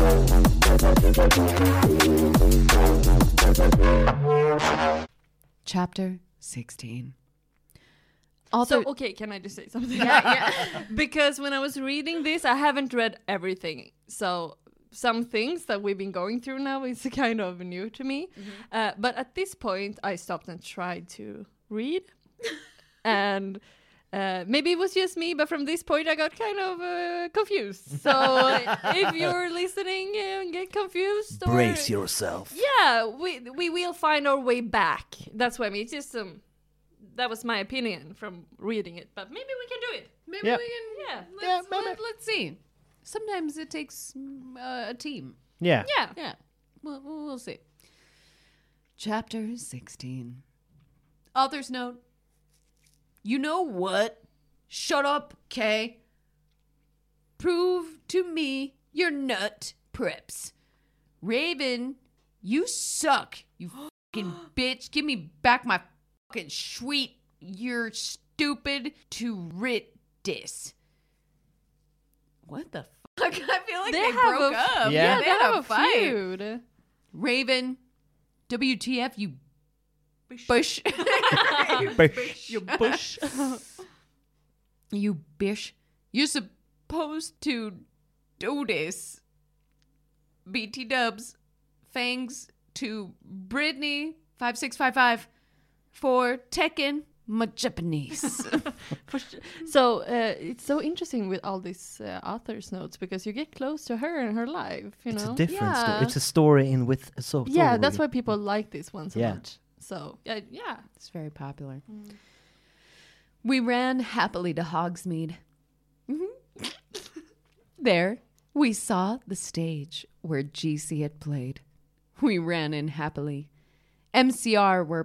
Chapter 16. So, okay, can I just say something? Yeah. Because when I was reading this, I haven't read everything. So some things that we've been going through now is kind of new to me. But at this point, I stopped and tried to read. And maybe it was just me, but from this point, I got kind of confused. So if you're listening and get confused, or, Brace yourself. yeah, we will find our way back. That's what I mean. It's just that was my opinion from reading it, but maybe we can do it. Maybe Yeah. we can. Yeah. Let's see. Sometimes it takes a team. Yeah. Yeah. Yeah. We'll see. Chapter 16. Author's note. You know what? Shut up, Kay. Prove to me your nut preps. Raven, you suck. You fucking bitch. Give me back my fucking sweet. You're stupid to rit dis. What the fuck? I feel like they broke up. Yeah. They had have a a fight. feud. Raven, WTF, you bush. You bush. You bish. You're supposed to do this. BT dubs. Fangs to Brittany 5655 for Tekken. My Japanese. So it's so interesting with all these author's notes because you get close to her and her life, you It's know? a different story. Yeah. It's a story in with a story. Yeah, that's why people like this one so Yeah. much. So, yeah. It's very popular. We ran happily to Hogsmeade. There, We saw the stage where GC had played. We ran in happily. MCR were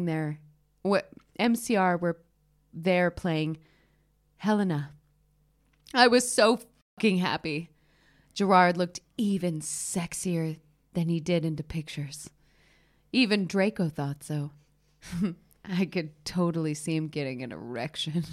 there playing Helena. I was so fucking happy. Gerard looked even sexier than he did in the pictures. Even Draco thought so. I could totally see him getting an erection.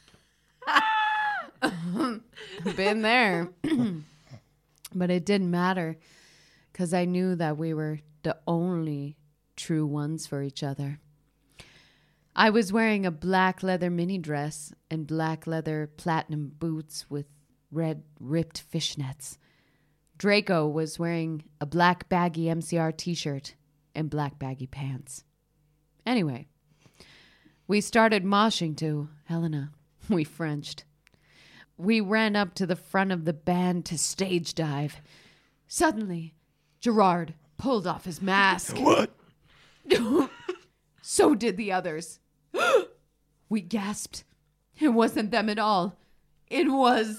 Been there. But it didn't matter, because I knew that we were the only true ones for each other. I was wearing a black leather mini dress and black leather platinum boots with red ripped fishnets. Draco was wearing a black baggy MCR t-shirt and black baggy pants. Anyway, we started moshing to Helena. We Frenched. We ran up to the front of the band to stage dive. Suddenly, Gerard pulled off his mask. What? So did the others. We gasped. It wasn't them at all. It was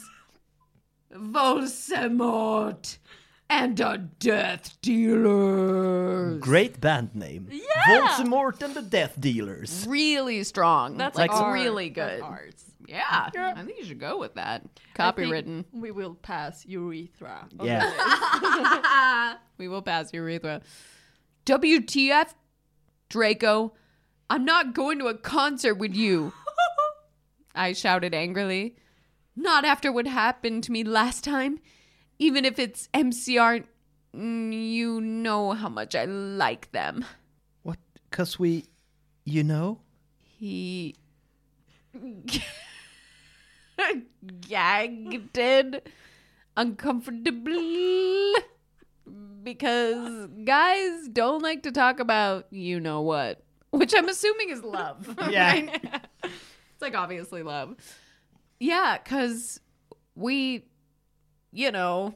Voldemort and the Death Dealers. Great band name. Yeah. Voldemort and the Death Dealers. Really strong. That's like art. really good. That's art. Yeah, I think you should go with that. I think Copywritten. We will pass urethra. on Yeah. the list. We will pass urethra. WTF, Draco? I'm not going to a concert with you. I shouted angrily. Not after what happened to me last time. Even if it's MCR, you know how much I like them. What? 'Cause we, you know? He gagged uncomfortably because guys don't like to talk about you know what, which I'm assuming is love. Yeah. Right? It's like obviously love. Yeah, because we, you know,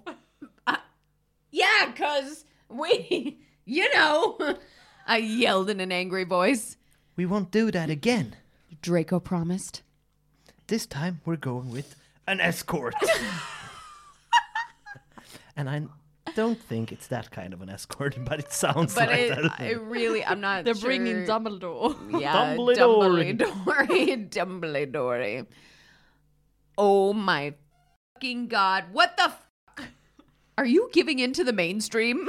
because we, you know, I yelled in an angry voice. We won't do that again. Draco promised. This time we're going with an escort. And I don't think it's that kind of an escort, but it sounds But like that. it really, I'm not They're sure. bringing Dumbledore. Yeah, Dumbledore. Dumbledore. Oh my fucking God. What the fuck? Are you giving in to the mainstream?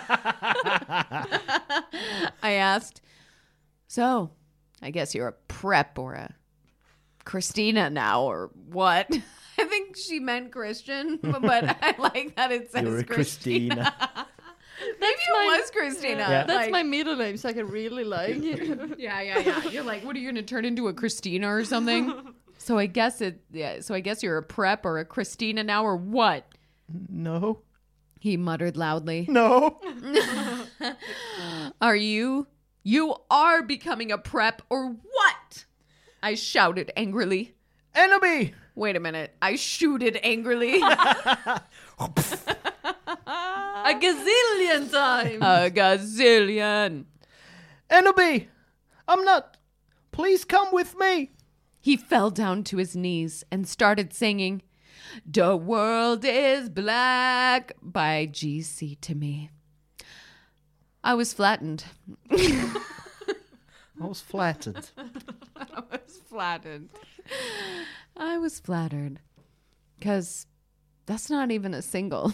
I asked. So, I guess you're a prep or a Christina now or what? I think she meant Christian, but I like that it says You're a Christina. Maybe it was Christina. Yeah. That's Like- my middle name, so I can really like it. Yeah. You're like, what are you going to turn into, a Christina or something? So I guess you're a prep or a Christina now or what? No. He muttered loudly. No. Are you? You are becoming a prep or what? I shouted angrily. Enemy! Wait a minute. I shooted angrily. A gazillion times. A gazillion. Enemy! I'm not. Please come with me. He fell down to his knees and started singing "The World is Black" by GC to me. I was flattened. I was flattered. I was flattered. Because that's not even a single.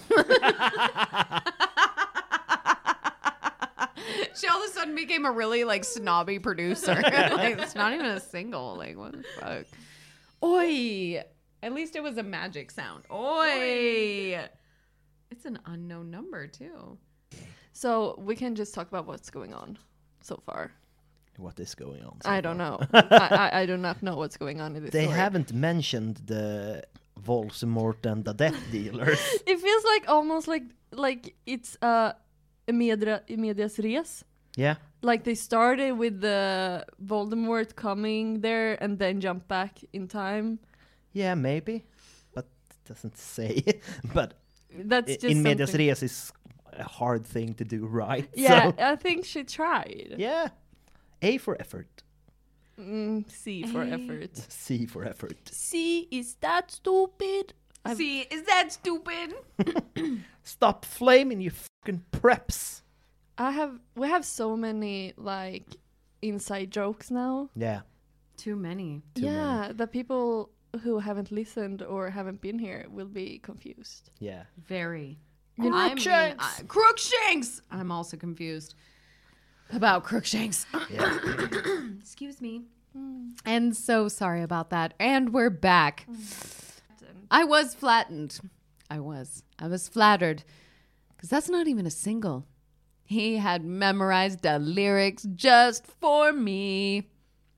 She all of a sudden became a really snobby producer. It's not even a single. What the fuck? Oi! At least it was a magic sound. Oi! It's an unknown number too. So we can just talk about what's going on so far. What is going on? I don't know. I do not know what's going on in this They story. haven't mentioned the Voldemort and the Death Dealers. It feels like almost like it's medias res. Yeah. Like they started with the Voldemort coming there and then jump back in time. Yeah, maybe. But it doesn't say. But That's just in medias something- res is a hard thing to do right. Yeah, So, I think she tried. yeah. A for effort. C for effort. C for effort. C, is that stupid? See, is that stupid? Stop flaming, you fucking preps. We have so many like inside jokes now. Yeah. Too many. The people who haven't listened or haven't been here will be confused. Yeah. Very. Crookshanks. Crookshanks! I'm also confused about Crookshanks. Yeah. Excuse me. And so sorry about that. And we're back. I was flattened. I was flattered. Because that's not even a single. He had memorized the lyrics just for me.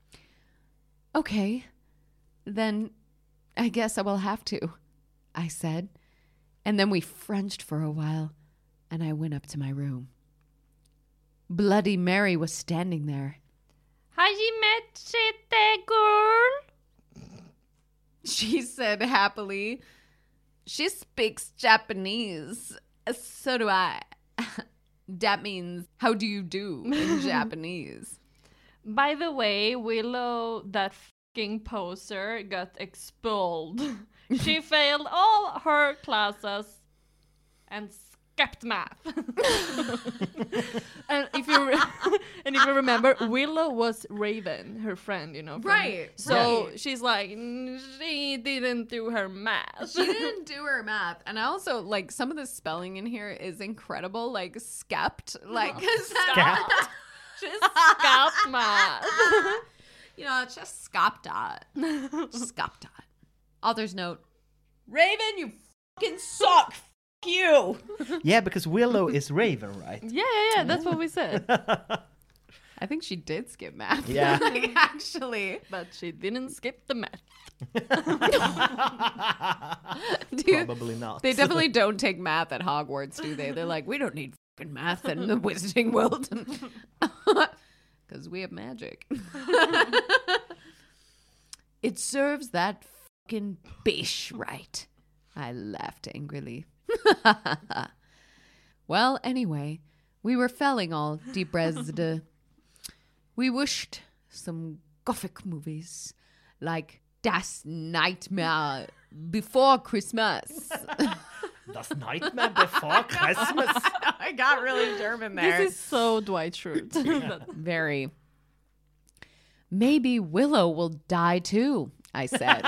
Okay, then I guess I will have to, I said. And then we Frenched for a while, and I went up to my room. Bloody Mary was standing there. Har you met the girl? She said happily. She speaks Japanese. So do I. That means, how do you do in Japanese? By the way, Willow, that fucking poser, got expelled. She failed all her classes and skipped math. and if you remember, Willow was Raven, her friend, Right. So she's like, she didn't do her math. She didn't do her math. And I also, like, some of the spelling in here is incredible. Like, skept. Like, Skept. She's skipped math. It's just scopped dot. Scopped dot. Author's note. Raven, you fucking suck. F*** you. Yeah, because Willow is Raven, right? Yeah. That's what we said. I think she did skip math. Yeah. Like, actually. But she didn't skip the math. Probably not. They definitely don't take math at Hogwarts, do they? They're like, we don't need fucking math in the Wizarding World. Because we have magic. It serves that fucking bish right. I laughed angrily. Well, anyway, we were felling all depressed. We wished some gothic movies like Das Nightmare Before Christmas. Das Nightmare Before Christmas. I got really German there. This is so Dwight Schrute. Very. Maybe Willow will die too, I said.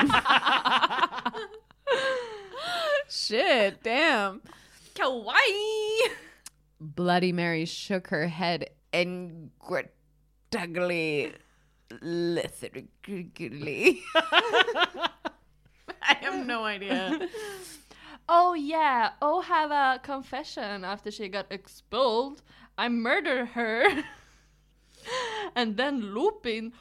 Shit, damn. Kawaii. Bloody Mary shook her head and ugly, lethargically. I have no idea. Oh yeah, have a confession after she got expelled. I murdered her. And then Lupin.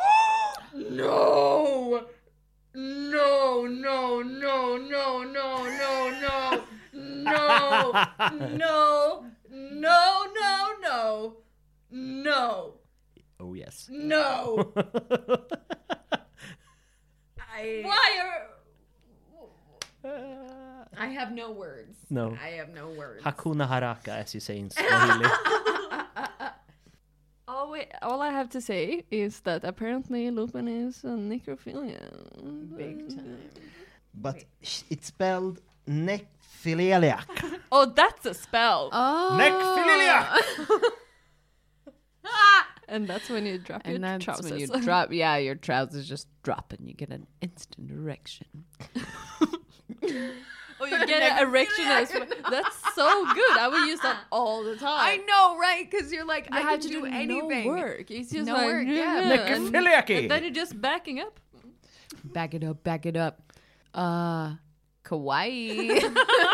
No! No, no, no, no, no, no, no. No, no, no, no, no. No. Oh, yes. No. I have no words. No. I have no words. Hakuna Haraka, as you say in Swahili. All I have to say is that apparently Lupin is a necrophilia. Big time. But it's spelled necrophiliac. Oh, that's a spell. Oh. Necrophiliac! And that's when you drop your And that's trousers. when you drop, your trousers just drop and you get an instant erection. Oh, you get an erection as well. That's so good. I would use that all the time. I know, right? Because you're like, You I have can to do do anything. no work. It's just No like, work, yeah. and Necrophiliac. then you're just backing up. Back it up, back it up. Kawaii.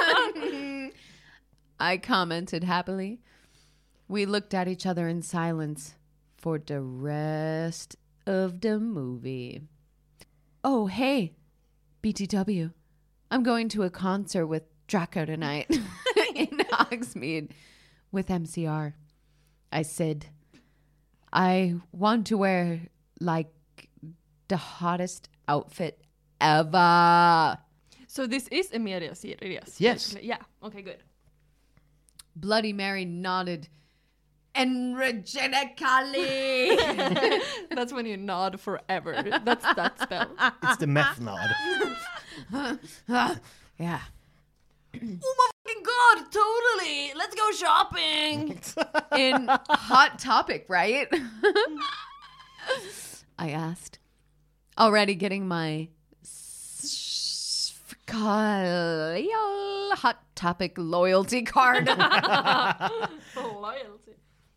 I commented happily. We looked at each other in silence for the rest of the movie. Oh, hey, BTW. I'm going to a concert with Draco tonight in Hogsmeade with MCR. I said, I want to wear, like, the hottest outfit ever. So this is Emilia Sirius. Yes. Basically. Yeah. Okay, good. Bloody Mary nodded energetically. That's when you nod forever. That's that spell. It's the meth nod. Yeah. Oh my fucking god, totally. Let's go shopping. In Hot Topic, right? I asked. Already getting my Hot Topic loyalty card. Loyalty.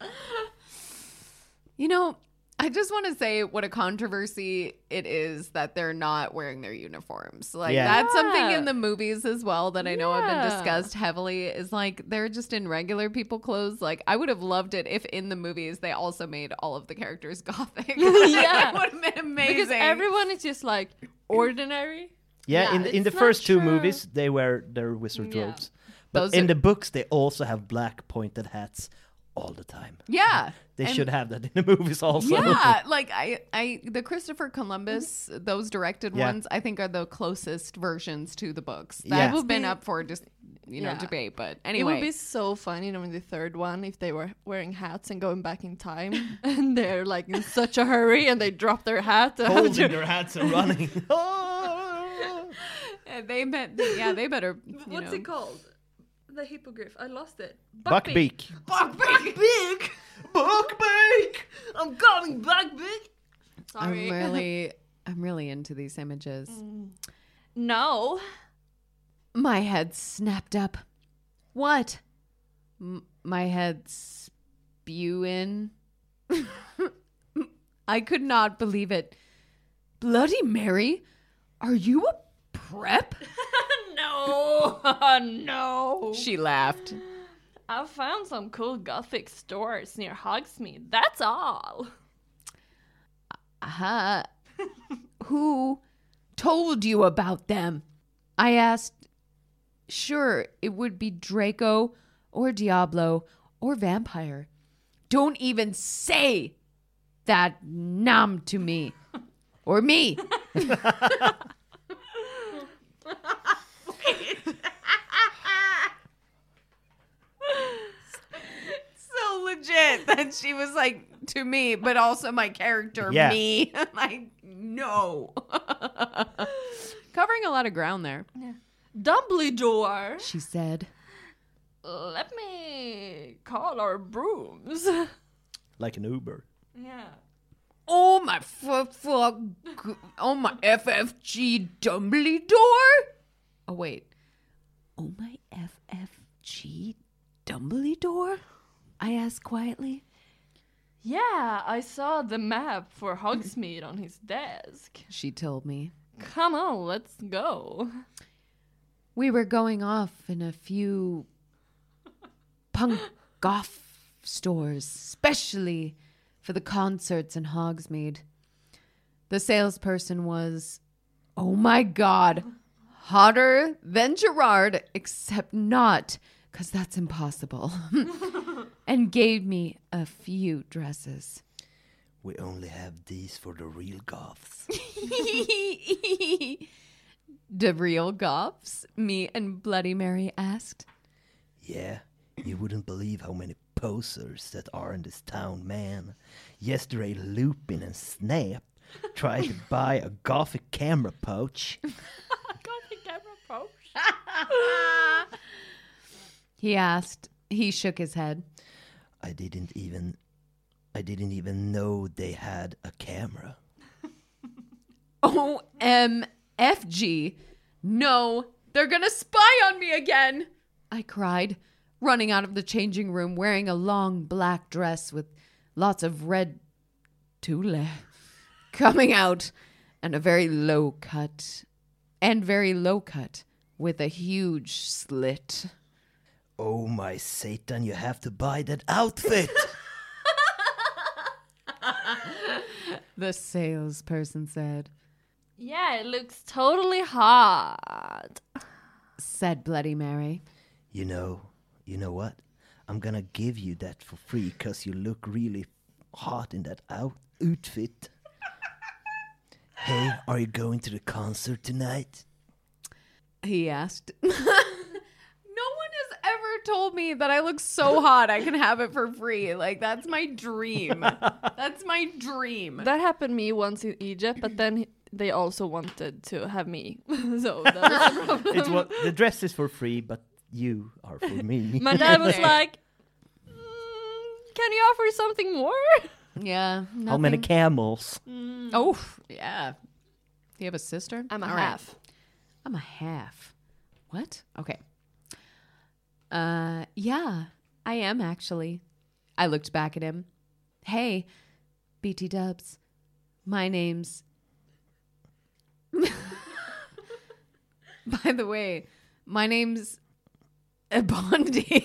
You know, I just want to say what a controversy it is that they're not wearing their uniforms. Like, that's something in the movies as well that I know have been discussed heavily, is like they're just in regular people clothes. Like, I would have loved it if in the movies they also made all of the characters gothic. It would have been amazing. Because everyone is just like ordinary. Yeah, Yeah, in the it's first not two true. movies, they wear their wizard Yeah. robes. But Those in are- the books, they also have black pointed hats all the time. Yeah. They And- should have that in the movies also. Yeah, like the Christopher Columbus, those directed Yeah. ones, I think are the closest versions to the books. That Yeah. have been up for just Yeah. debate. But It anyway, would be so funny, in the third one, if they were wearing hats and going back in time, and they're like in such a hurry, and they drop their hat, Holding their hats and running. they better. What's it called? The hippogriff. I lost it. Buckbeak. Buckbeak. Buckbeak! I'm coming, Buckbeak. Sorry. I'm really into these images. No. My head snapped up. What? My head spewing. I could not believe it. Bloody Mary, are you a prep? No. No. She laughed. I found some cool gothic stores near Hogsmeade. That's all. Who told you about them? I asked. Sure, it would be Draco or Diablo or Vampire. Don't even say that nom to me. Or me. So legit that she was like, to me, but also my character, Yeah. me. Like, no. Covering a lot of ground there. Dumbledore. She said. Let me call our brooms. Like an Uber. Yeah. Oh my oh my FFG Dumbledore? Oh wait. Oh my FFG Dumbledore? I asked quietly. Yeah, I saw the map for Hogsmeade on his desk. She told me. Come on, let's go. We were going off in a few punk goth stores, especially for the concerts in Hogsmeade. The salesperson was, oh my God, hotter than Gerard, except not, because that's impossible, and gave me a few dresses. We only have these for the real goths. The real goths? Me and Bloody Mary asked. Yeah, you wouldn't believe how many posers that are in this town, man. Yesterday, Lupin and Snap tried to buy a gothic camera pouch. Gothic camera pouch. He asked. He shook his head. I didn't even know they had a camera. OMFG. No, they're gonna spy on me again, I cried, running out of the changing room wearing a long black dress with lots of red tulle coming out and a very low cut with a huge slit. Oh my Satan, you have to buy that outfit! The salesperson said. Yeah, it looks totally hot. Said Bloody Mary. You know what? I'm gonna give you that for free because you look really hot in that outfit. Hey, are you going to the concert tonight? He asked. No one has ever told me that I look so hot I can have it for free. Like, that's my dream. That's my dream. That happened to me once in Egypt, but then they also wanted to have me. So that was the problem. It's what the dress is for free, but you are for me. My dad was like, can you offer something more? Yeah. How many camels? Oh, yeah. Do you have a sister? I'm a All half. Right. I'm a half. What? Okay. Yeah, I am actually. I looked back at him. Hey, BT Dubs. My name's... By the way, my name's Bondi.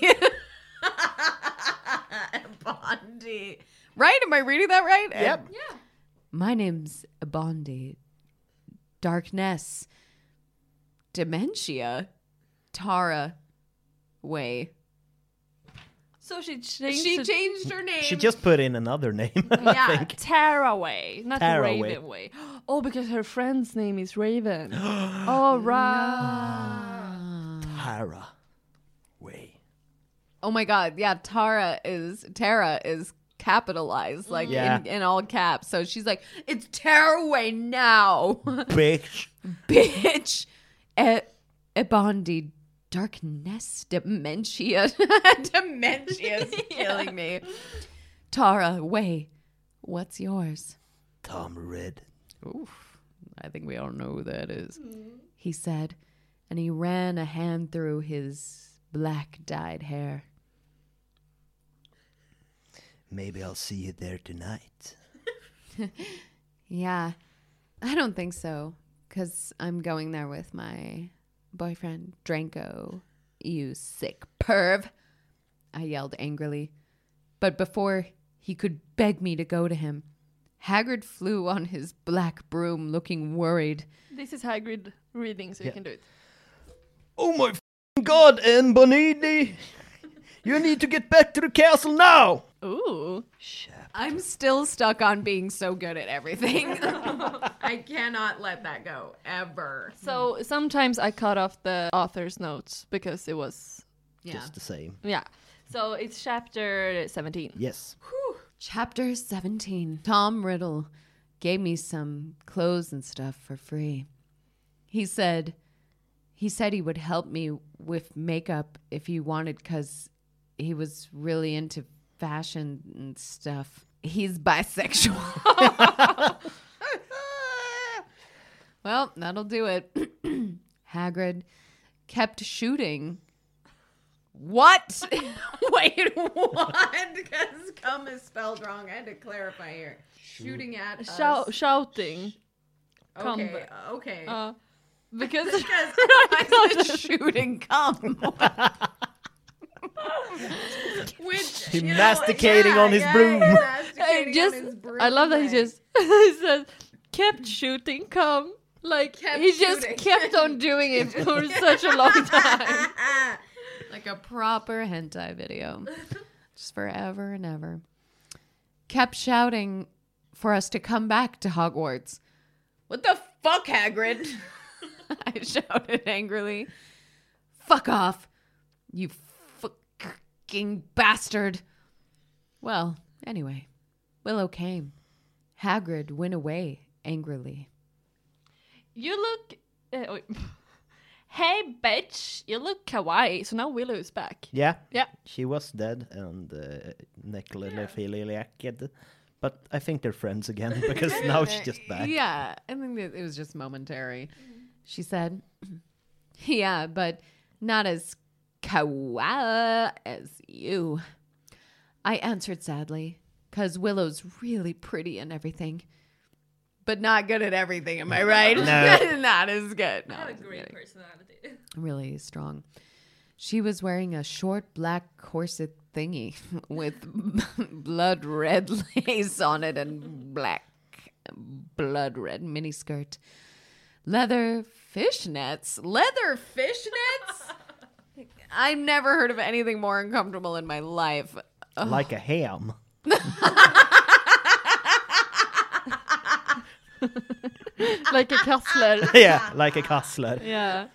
Bondi. Right? Am I reading that right? Yep. Yeah. My name's Bondi. Darkness. Dementia. Tara. Way. So she changed She changed her name. She just put in another name. I think. Taraway, not Taraway. Ravenway. Oh, because her friend's name is Raven. Oh, right. Tara. Way. Oh my god, yeah, Tara is capitalized, like in all caps. So she's like, it's Taraway now. Bitch. Bitch. Bondi. Darkness. Dementia. Dementia is killing me. Tara, Way. What's yours? Tom Red. Oof. I think we all know who that is. He said, and he ran a hand through his black dyed hair. Maybe I'll see you there tonight. Yeah, I don't think so, because I'm going there with my boyfriend, Dranko. You sick perv, I yelled angrily. But before he could beg me to go to him, Hagrid flew on his black broom looking worried. This is Hagrid reading, so you can do it. Oh my god, Anne Bonini! You need to get back to the castle now! Ooh. I'm still stuck on being so good at everything. I cannot let that go, ever. So sometimes I cut off the author's notes because it was... Just the same. Yeah. So it's chapter 17. Yes. Whew. Chapter 17. Tom Riddle gave me some clothes and stuff for free. He said he would help me with makeup if he wanted, because he was really into fashion and stuff. He's bisexual. Well, that'll do it. Hagrid kept shooting. What? Wait, what? Because cum is spelled wrong. I had to clarify here. Shooting at us. Shouting. Okay, okay. Because I said shooting cum. Which, He masticating on his broom. I love that he just he says kept shooting cum. Like he just kept on doing it for such a long time. Like a proper hentai video. Just forever and ever. Kept shouting for us to come back to Hogwarts. What the fuck, Hagrid? I shouted angrily. Fuck off, you fucking bastard. Well, anyway, Willow came. Hagrid went away angrily. You look... Hey, bitch, you look kawaii. So now Willow is back. Yeah. Yeah. She was dead and necrophiliac. But I think they're friends again because now she's just back. Yeah, I think it was just momentary. She said, yeah, but not as kawaii as you. I answered sadly, because Willow's really pretty and everything. But not good at everything, am I right? No. Not as good. No, I have a great personality. Really strong. She was wearing a short black corset thingy with blood red lace on it and black blood red miniskirt. Leather fishnets? I've never heard of anything more uncomfortable in my life. Ugh. Like a ham. Like a Kassler. Yeah, like a Kassler. Yeah.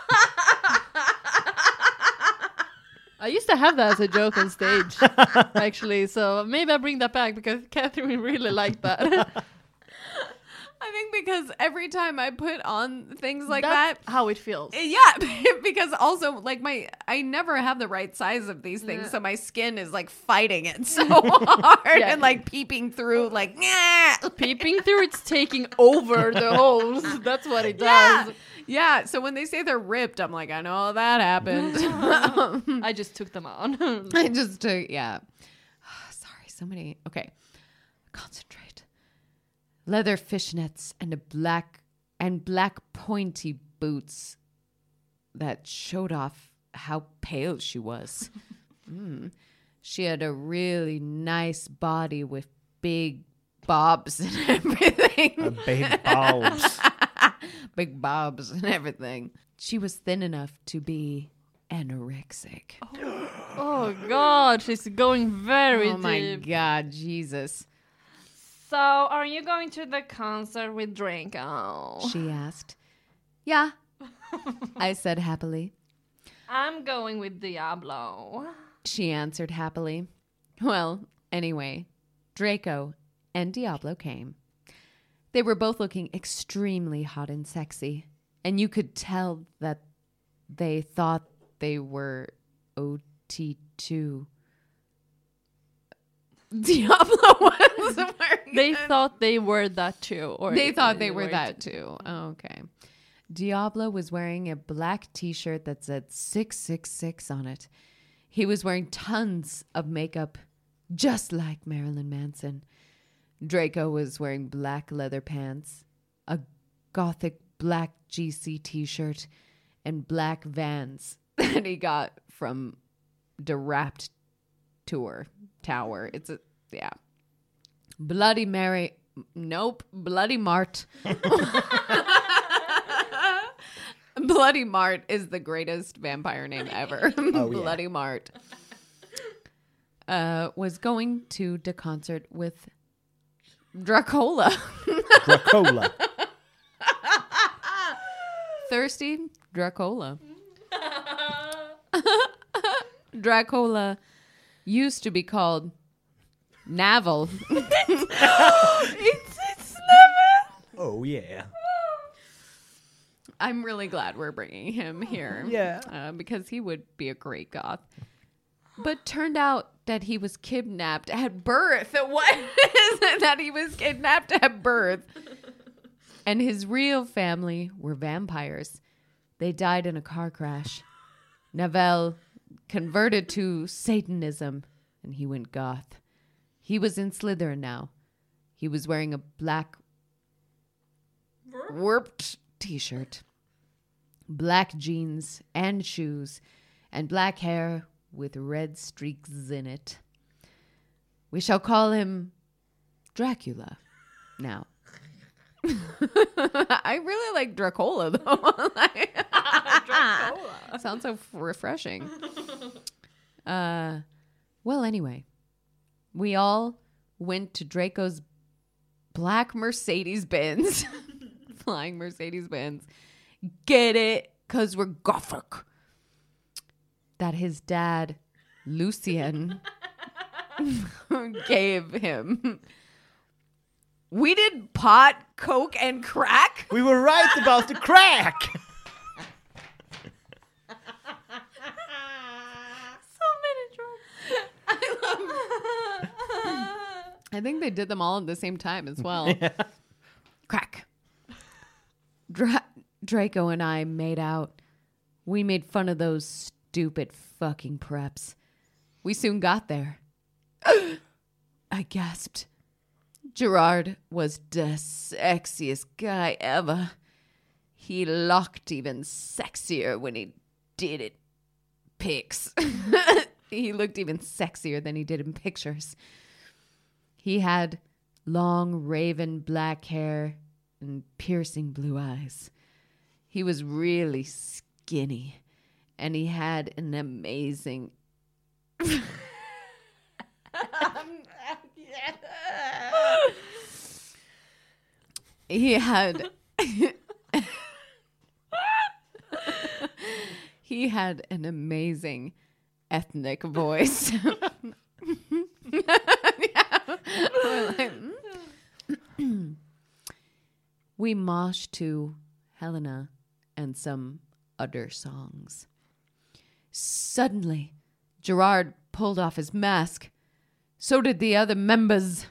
I used to have that as a joke on stage, actually. So maybe I bring that back because Catherine really liked that. I think because every time I put on things like That's that, how it feels. yeah, because also like I never have the right size of these things, so my skin is like fighting it so hard and like peeping through, like Peeping through, it's taking over the holes. That's what it yeah, does. yeah. So when they say they're ripped, I'm like, I know that happened. I just took them on. I just took sorry, so many. Okay, concentrate. Leather fishnets and black pointy boots that showed off how pale she was. She had a really nice body with big bobs and everything. Big bulbs. Big bobs and everything. She was thin enough to be anorexic. Oh God, she's going very Oh my deep. God, Jesus. So, are you going to the concert with Draco? She asked. Yeah, I said happily. I'm going with Diablo. She answered happily. Well, anyway, Draco and Diablo came. They were both looking extremely hot and sexy, and you could tell that they thought they were OT2. Diablo was wearing They thought they were that too. Or They thought they were that too. Oh, okay. Diablo was wearing a black t-shirt that said 666 on it. He was wearing tons of makeup, just like Marilyn Manson. Draco was wearing black leather pants, a gothic black GC t-shirt, and black Vans that he got from the Wrapped Tower. It's Bloody Mary. Nope. Bloody Mart. Bloody Mart is the greatest vampire name ever. Oh, yeah. Bloody Mart. Was going to the concert with Dracola. Dracola. Thirsty Dracola. Dracola used to be called Navel. It's never. Oh, yeah. I'm really glad we're bringing him here. Yeah. Because he would be a great goth. But turned out that he was kidnapped at birth. What is it that he was kidnapped at birth? And his real family were vampires. They died in a car crash. Navel converted to Satanism, and he went goth. He was in Slytherin now. He was wearing a black warped t-shirt, black jeans and shoes, and black hair with red streaks in it. We shall call him Dracula now. I really like Dracola, though. Dracola. Sounds so refreshing. Well, anyway, we all went to Draco's black Mercedes-Benz. Flying Mercedes-Benz. Get it? Because we're gothic. That his dad, Lucien, gave him. We did pot, coke, and crack? We were right about the crack. I think they did them all at the same time as well. Yeah. Crack. Draco and I made out. We made fun of those stupid fucking preps. We soon got there. I gasped. Gerard was the sexiest guy ever. He looked even sexier when he did it. Pics. He looked even sexier than he did in pictures. He had long, raven black hair and piercing blue eyes. He was really skinny, and he had an amazing... He had... He had an amazing ethnic voice. we moshed to Helena and some other songs. Suddenly, Gerard pulled off his mask. So did the other members.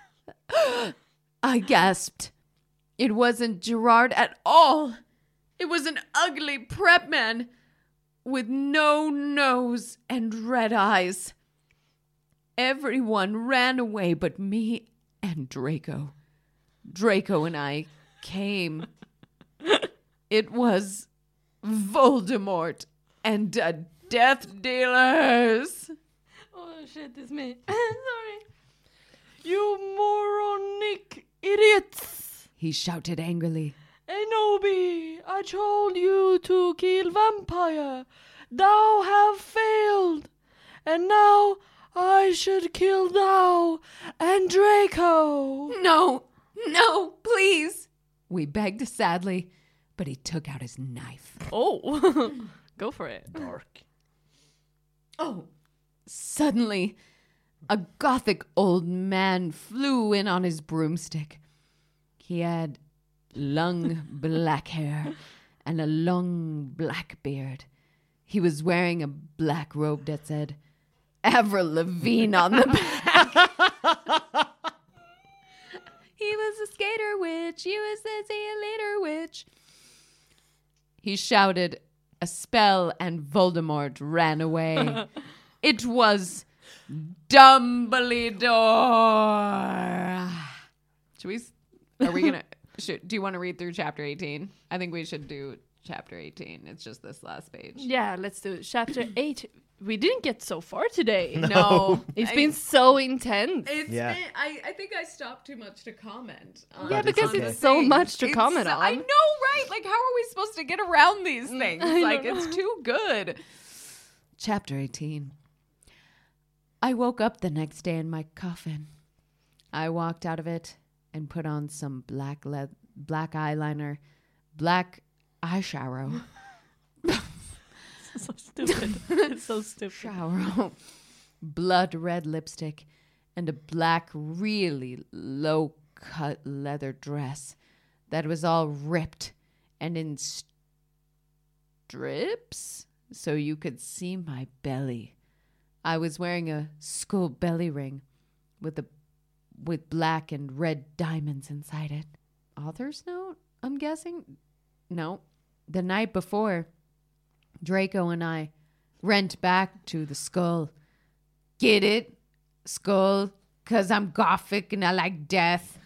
I gasped. It wasn't Gerard at all. It was an ugly prep man with no nose and red eyes. Everyone ran away but me and Draco. Draco and I came. It was Voldemort and the Death Dealers. Oh shit, it's me. Sorry. You moronic idiots! He shouted angrily. Enobi, I told you to kill vampire. Thou have failed. And now I should kill thou and Draco. No, please. We begged sadly, but he took out his knife. Oh, go for it. Dark. Oh, suddenly, a gothic old man flew in on his broomstick. He had long black hair and a long black beard. He was wearing a black robe that said Avril Lavigne on the back. He was a skater witch. He was a leader witch. He shouted a spell and Voldemort ran away. It was Dumbledore. Do you want to read through chapter 18? I think we should do chapter 18. It's just this last page. Yeah, let's do it. Chapter 8. We didn't get so far today. No. It's been so intense. I think I stopped too much to comment. Yeah, because it's so much to comment on. I know, right? Like, how are we supposed to get around these things? Like, it's too good. Chapter 18. I woke up the next day in my coffin. I walked out of it and put on some black eyeliner, black eyeshadow. So stupid. It's so stupid. Shower, blood red lipstick, and a black, really low-cut leather dress that was all ripped and in strips so you could see my belly. I was wearing a skull belly ring with black and red diamonds inside it. Author's note, I'm guessing? No. The night before, Draco and I went back to the skull. Get it? Skull, 'cause I'm gothic and I like death.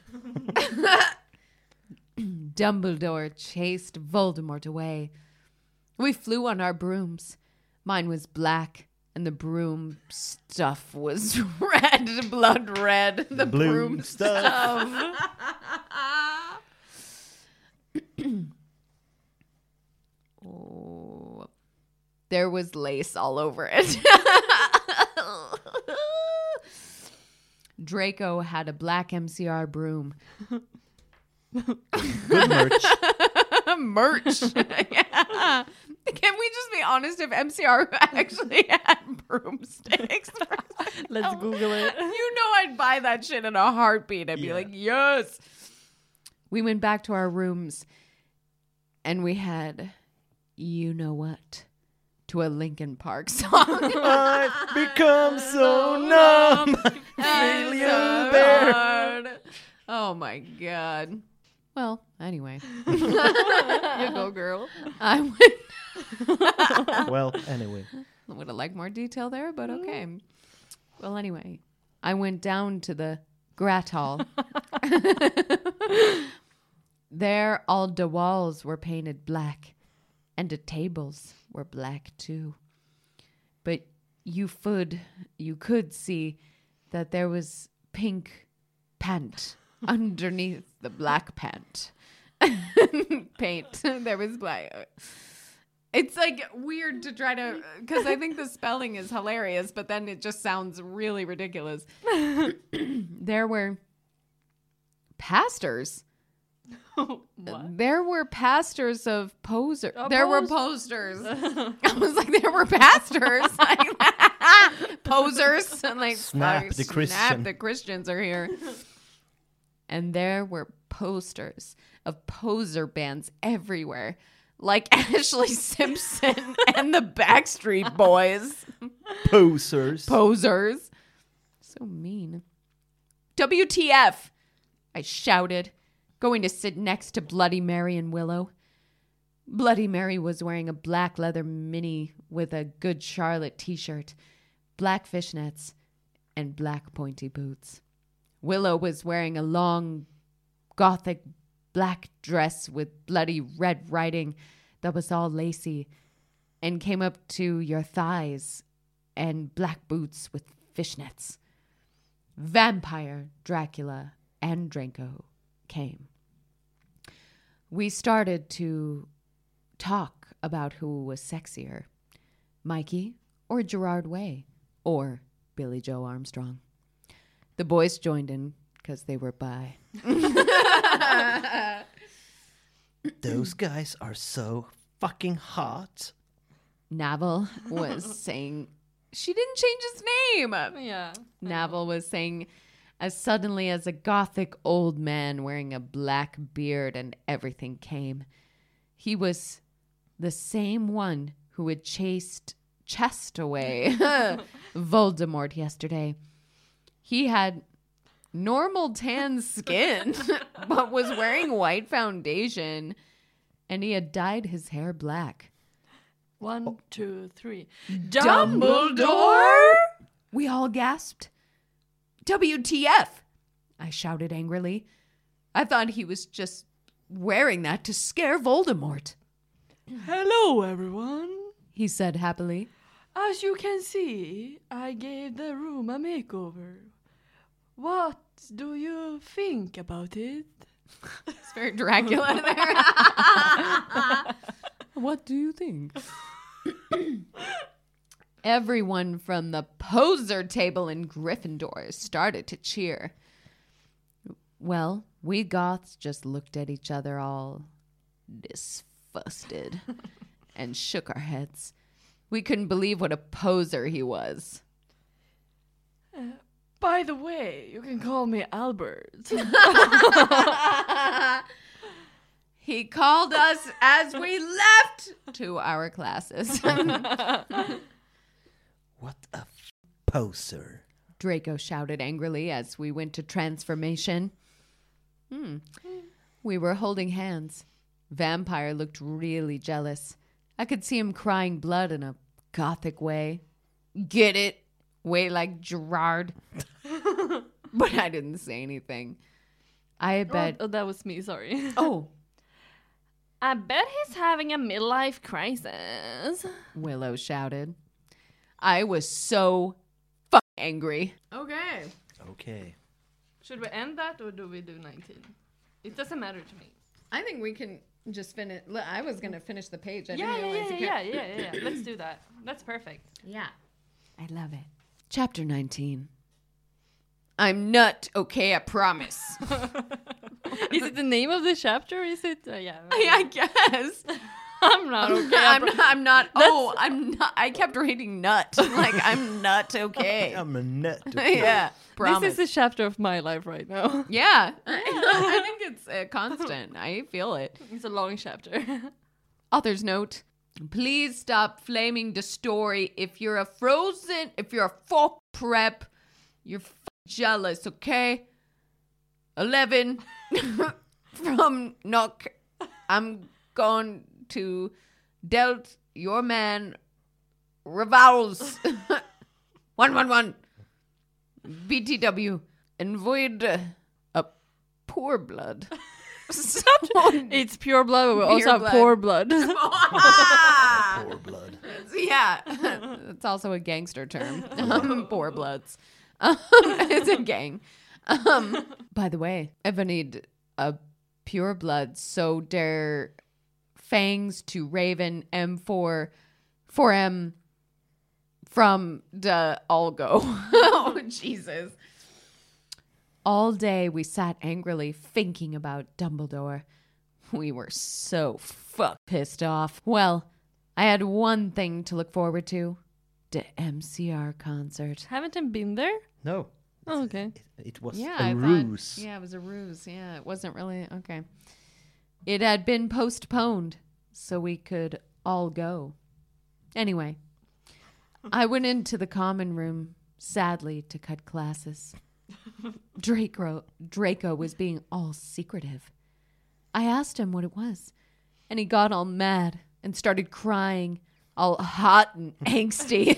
Dumbledore chased Voldemort away. We flew on our brooms. Mine was black, and the broom stuff was red, blood red. The broom stuff. Oh. There was lace all over it. Draco had a black MCR broom. Good merch. Merch. Yeah. Can we just be honest if MCR actually had broomsticks? Let's Google it. You know I'd buy that shit in a heartbeat. I'd be like, yes. We went back to our rooms and we had, you know what, to a Linkin Park song. I've become so numb. Feel you there. Oh my God. Well, anyway. You go, girl. I would. Well, anyway. I would have liked more detail there, but okay. Well, anyway. I went down to the Grat Hall. There, all the walls were painted black, and the tables were black too. But you could see that there was pink pant underneath the black pant. Paint. There was black. It's like weird to try to, because I think the spelling is hilarious, but then it just sounds really ridiculous. There were pastors. What? There were pastors of posers. There were posters. I was like, there were pastors. Posers. And like, Snap the Christian. The Christians are here. And there were posters of poser bands everywhere, like Ashley Simpson and the Backstreet Boys. Posers. Posers. So mean. WTF, I shouted, going to sit next to Bloody Mary and Willow. Bloody Mary was wearing a black leather mini with a Good Charlotte t-shirt, black fishnets, and black pointy boots. Willow was wearing a long, gothic black dress with bloody red writing that was all lacy and came up to your thighs, and black boots with fishnets. Vampire, Dracula, and Draco came. We started to talk about who was sexier, Mikey or Gerard Way or Billy Joe Armstrong. The boys joined in because they were bi. Those guys are so fucking hot. Navel was saying, she didn't change his name. Yeah. Navel was saying, as suddenly as a gothic old man wearing a black beard and everything came. He was the same one who had chased Chest away Voldemort yesterday. He had normal tan skin, but was wearing white foundation, and he had dyed his hair black. 1, 2, 3. Dumbledore? We all gasped. WTF? I shouted angrily. I thought he was just wearing that to scare Voldemort. Hello, everyone. He said happily. As you can see, I gave the room a makeover. What do you think about it? It's very Dracula there. What do you think? Everyone from the poser table in Gryffindor started to cheer. Well, we goths just looked at each other all disgusted and shook our heads. We couldn't believe what a poser he was. By the way, you can call me Albert. He called us as we left to our classes. What a poser. Draco shouted angrily as we went to transformation. We were holding hands. Vampire looked really jealous. I could see him crying blood in a gothic way. Get it? Way like Gerard. But I didn't say anything. I bet... Oh, that was me, sorry. Oh. I bet he's having a midlife crisis. Willow shouted. I was so fucking angry. Okay. Okay. Should we end that or do we do 19? It doesn't matter to me. I think we can just finish. I was going to finish the page. I Yeah. didn't realize Yeah. Let's do that. That's perfect. Yeah. I love it. Chapter 19. I'm not okay, I promise. Is it the name of the chapter? Is it? Yeah. I guess. I'm not okay. I'm not. Oh, I'm not. I kept reading nut. Like, I'm not okay. I'm a nut. Okay. Yeah. Promise. This is the chapter of my life right now. Yeah. I think it's constant. I feel it. It's a long chapter. Author's note. Please stop flaming the story. If you're a fuck prep, you're jealous, okay? 11 from Nook. I'm going to dealt your man revals 111 BTW and void a poor blood. It's pure blood, but we also have poor blood. Poor blood. Yeah, it's also a gangster term. Poor bloods. It's a gang. By the way, if I need a pure blood, so der fangs to Raven M4 4M from the Algo. Oh, Jesus. All day we sat angrily thinking about Dumbledore. We were so pissed off. Well, I had one thing to look forward to. The MCR concert. Haven't I been there? No. Oh, okay. It was Yeah, a I ruse. thought. Yeah, it was a ruse. Yeah, it wasn't really okay. It had been postponed so we could all go. Anyway, I went into the common room, sadly, to cut classes. Draco was being all secretive. I asked him what it was, and he got all mad and started crying, all hot and angsty.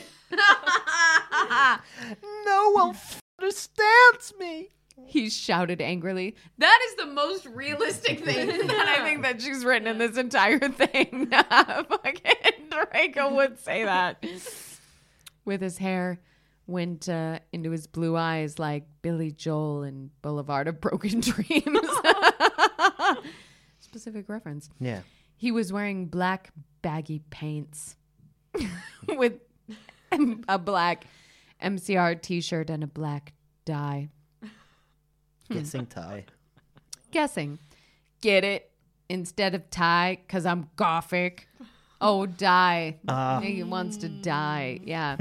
No one understands me. He shouted angrily. That is the most realistic thing that I think that she's written in this entire thing. Fucking Draco would say that. With his hair went into his blue eyes like Billy Joel in Boulevard of Broken Dreams. Specific reference. Yeah. He was wearing black baggy pants with a black MCR t-shirt and a black dye. Guessing tie. Guessing. Get it? Instead of tie, because I'm gothic. Oh, die. He wants to die. Yeah.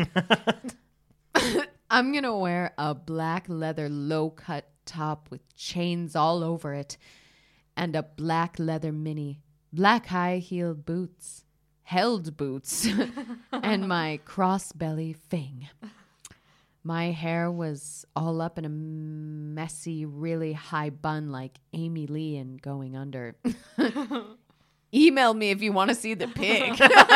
I'm going to wear a black leather low-cut top with chains all over it and a black leather mini, black high-heeled boots, held boots, and my cross-belly thing. My hair was all up in a messy, really high bun like Amy Lee and going under. Email me if you want to see the pic.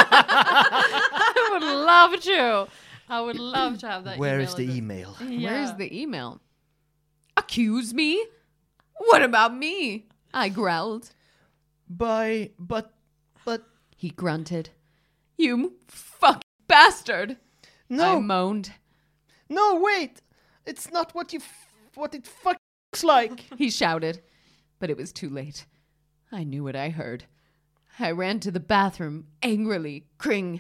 I would love to. I would love to have that. Where email is the address. email? Yeah. Where's the email? Accuse me? What about me? I growled. But He grunted. You fucking bastard. I no, moaned. no, wait! It's not what it fucking looks like. He shouted, but it was too late. I knew what I heard. I ran to the bathroom, angrily, cring.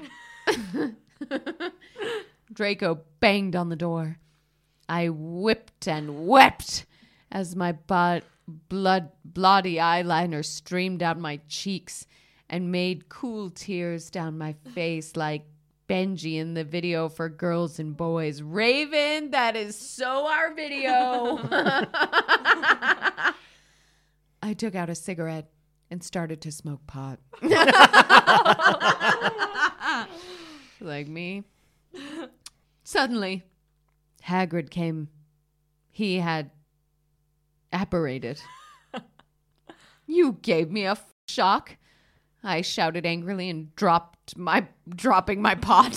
Draco banged on the door. I whipped and wept as my bloody eyeliner streamed down my cheeks and made cool tears down my face like Benji in the video for Girls and Boys. Raven, that is so our video. I took out a cigarette and started to smoke pot. Like me. Suddenly, Hagrid came. He had apparated. You gave me a shock. I shouted angrily and dropping my pot.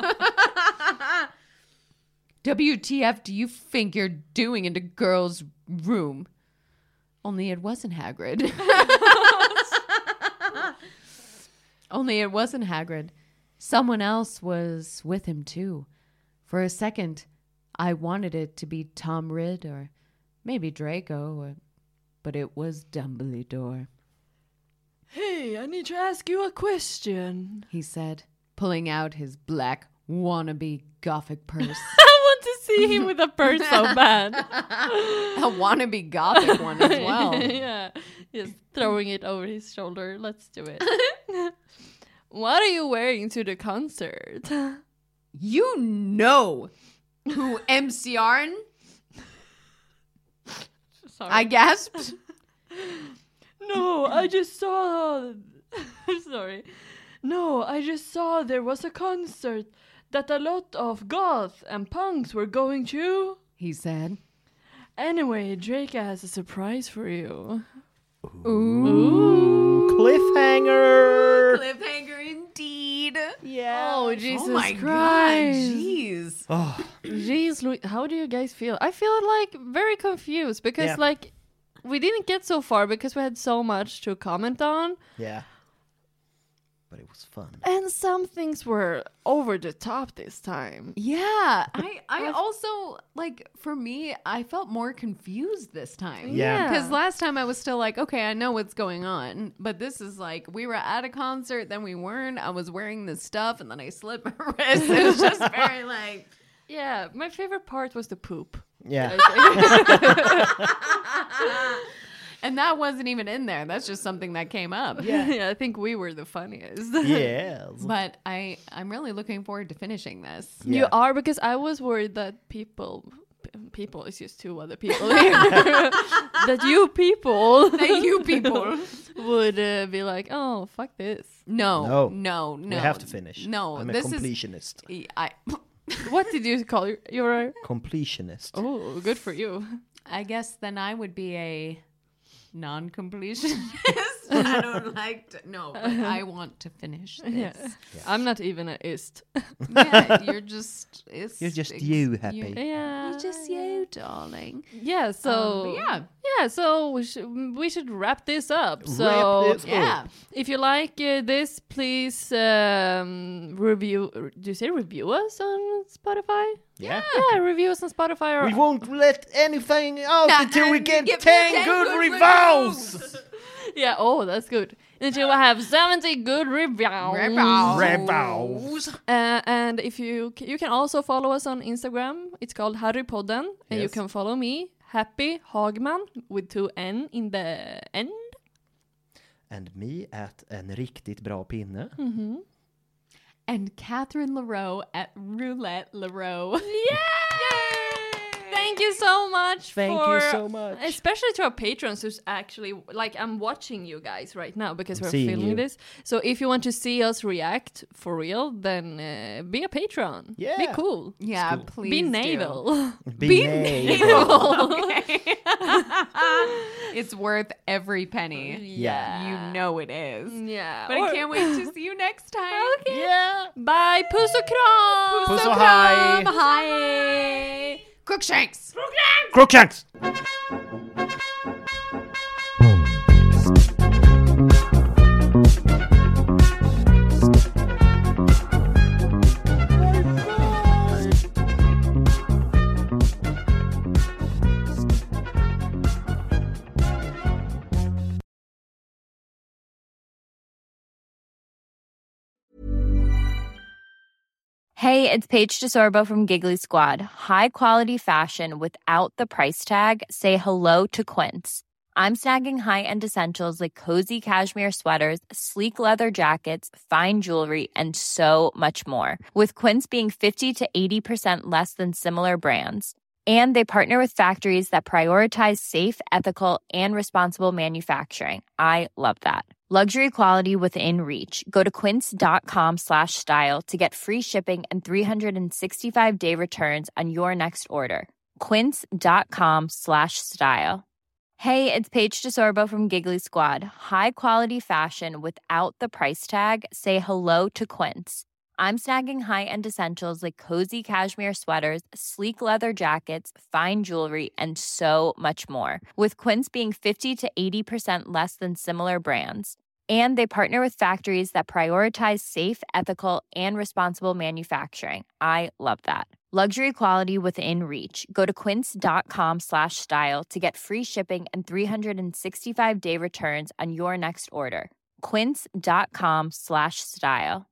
WTF do you think you're doing in the girl's room? Only it wasn't Hagrid. Only it wasn't Hagrid. Someone else was with him too. For a second, I wanted it to be Tom Ridd or maybe Draco, but it was Dumbledore. Hey, I need to ask you a question. He said, pulling out his black wannabe gothic purse. I want to see him with a purse so bad. A wannabe gothic one as well. Yeah, just throwing it over his shoulder. Let's do it. What are you wearing to the concert? You know who MCR'd? Sorry. I gasped. No, I just saw. Sorry. No, I just saw there was a concert that a lot of goths and punks were going to. He said. Anyway, Draco has a surprise for you. Ooh, cliffhanger. Cliffhanger indeed. Yeah. Oh, Jesus Oh my Christ. god, jeez. Oh, Jeez, how do you guys feel? I feel like very confused because Yeah. like we didn't get so far because we had so much to comment on. yeah. But it was fun. And some things were over the top this time. Yeah, I also, like, for me, I felt more confused this time. Yeah. Because last time I was still like, okay, I know what's going on. But this is like, we were at a concert, then we weren't. I was wearing this stuff, and then I slipped my wrist. It was just very like... Yeah, my favorite part was the poop. Yeah. And that wasn't even in there. That's just something that came up. Yeah, I think we were the funniest. Yes. But I'm really looking forward to finishing this. Yeah. You are, because I was worried that people people. It's just two other people here. That you people would be like, oh, fuck this. No. We have to finish. No, I'm a this completionist. What did you call you? You're a Completionist. Oh, good for you. I guess then I would be a non-completionist. I don't like to. No, but I want to finish this. Yeah. I'm not even an ist. Yeah, you're just. You're just you, Happy. Yeah. You're just you, darling. Yeah. So but yeah. Yeah. So we should wrap this up. So Yeah. if you like this, please review. Do you say review us on Spotify? Yeah. Yeah, review us on Spotify. Or We won't let anything out until we get Give 10 good reviews. Yeah, oh, that's good. Until we have 70 good reviews. And if you can also follow us on Instagram. It's called Harrypodden. And you Yes. can follow me, Happy Hagman, with 2 N in the end. And me at en riktigt bra pinne. And Catherine LaRoe at Roulette LaRoe. Thank you so much. Thank you so much. Especially to our patrons who's actually, like, I'm watching you guys right now because I'm we're seeing filming you. this. So if you want to see us react for real, then be a patron. Yeah. Be cool. Yeah, cool. please Be do. naval. Be naval. Okay. It's worth every penny. Yeah. You know it is. Yeah. But I can't wait to see you next time. Okay. Yeah. Bye. Puss och kram. Puss och hej. Hi. Crookshanks. Crookshanks! Hey, it's Paige DeSorbo from Giggly Squad. High quality fashion without the price tag. Say hello to Quince. I'm snagging high-end essentials like cozy cashmere sweaters, sleek leather jackets, fine jewelry, and so much more. With Quince being 50 to 80% less than similar brands. And they partner with factories that prioritize safe, ethical, and responsible manufacturing. I love that. Luxury quality within reach. Go to quince.com/style to get free shipping and 365-day returns on your next order. Quince.com/style. Hey, it's Paige DeSorbo from Giggly Squad. High quality fashion without the price tag. Say hello to Quince. I'm snagging high-end essentials like cozy cashmere sweaters, sleek leather jackets, fine jewelry, and so much more. With Quince being 50 to 80% less than similar brands. And they partner with factories that prioritize safe, ethical, and responsible manufacturing. I love that. Luxury quality within reach. Go to quince.com/style to get free shipping and 365-day returns on your next order. Quince.com/style.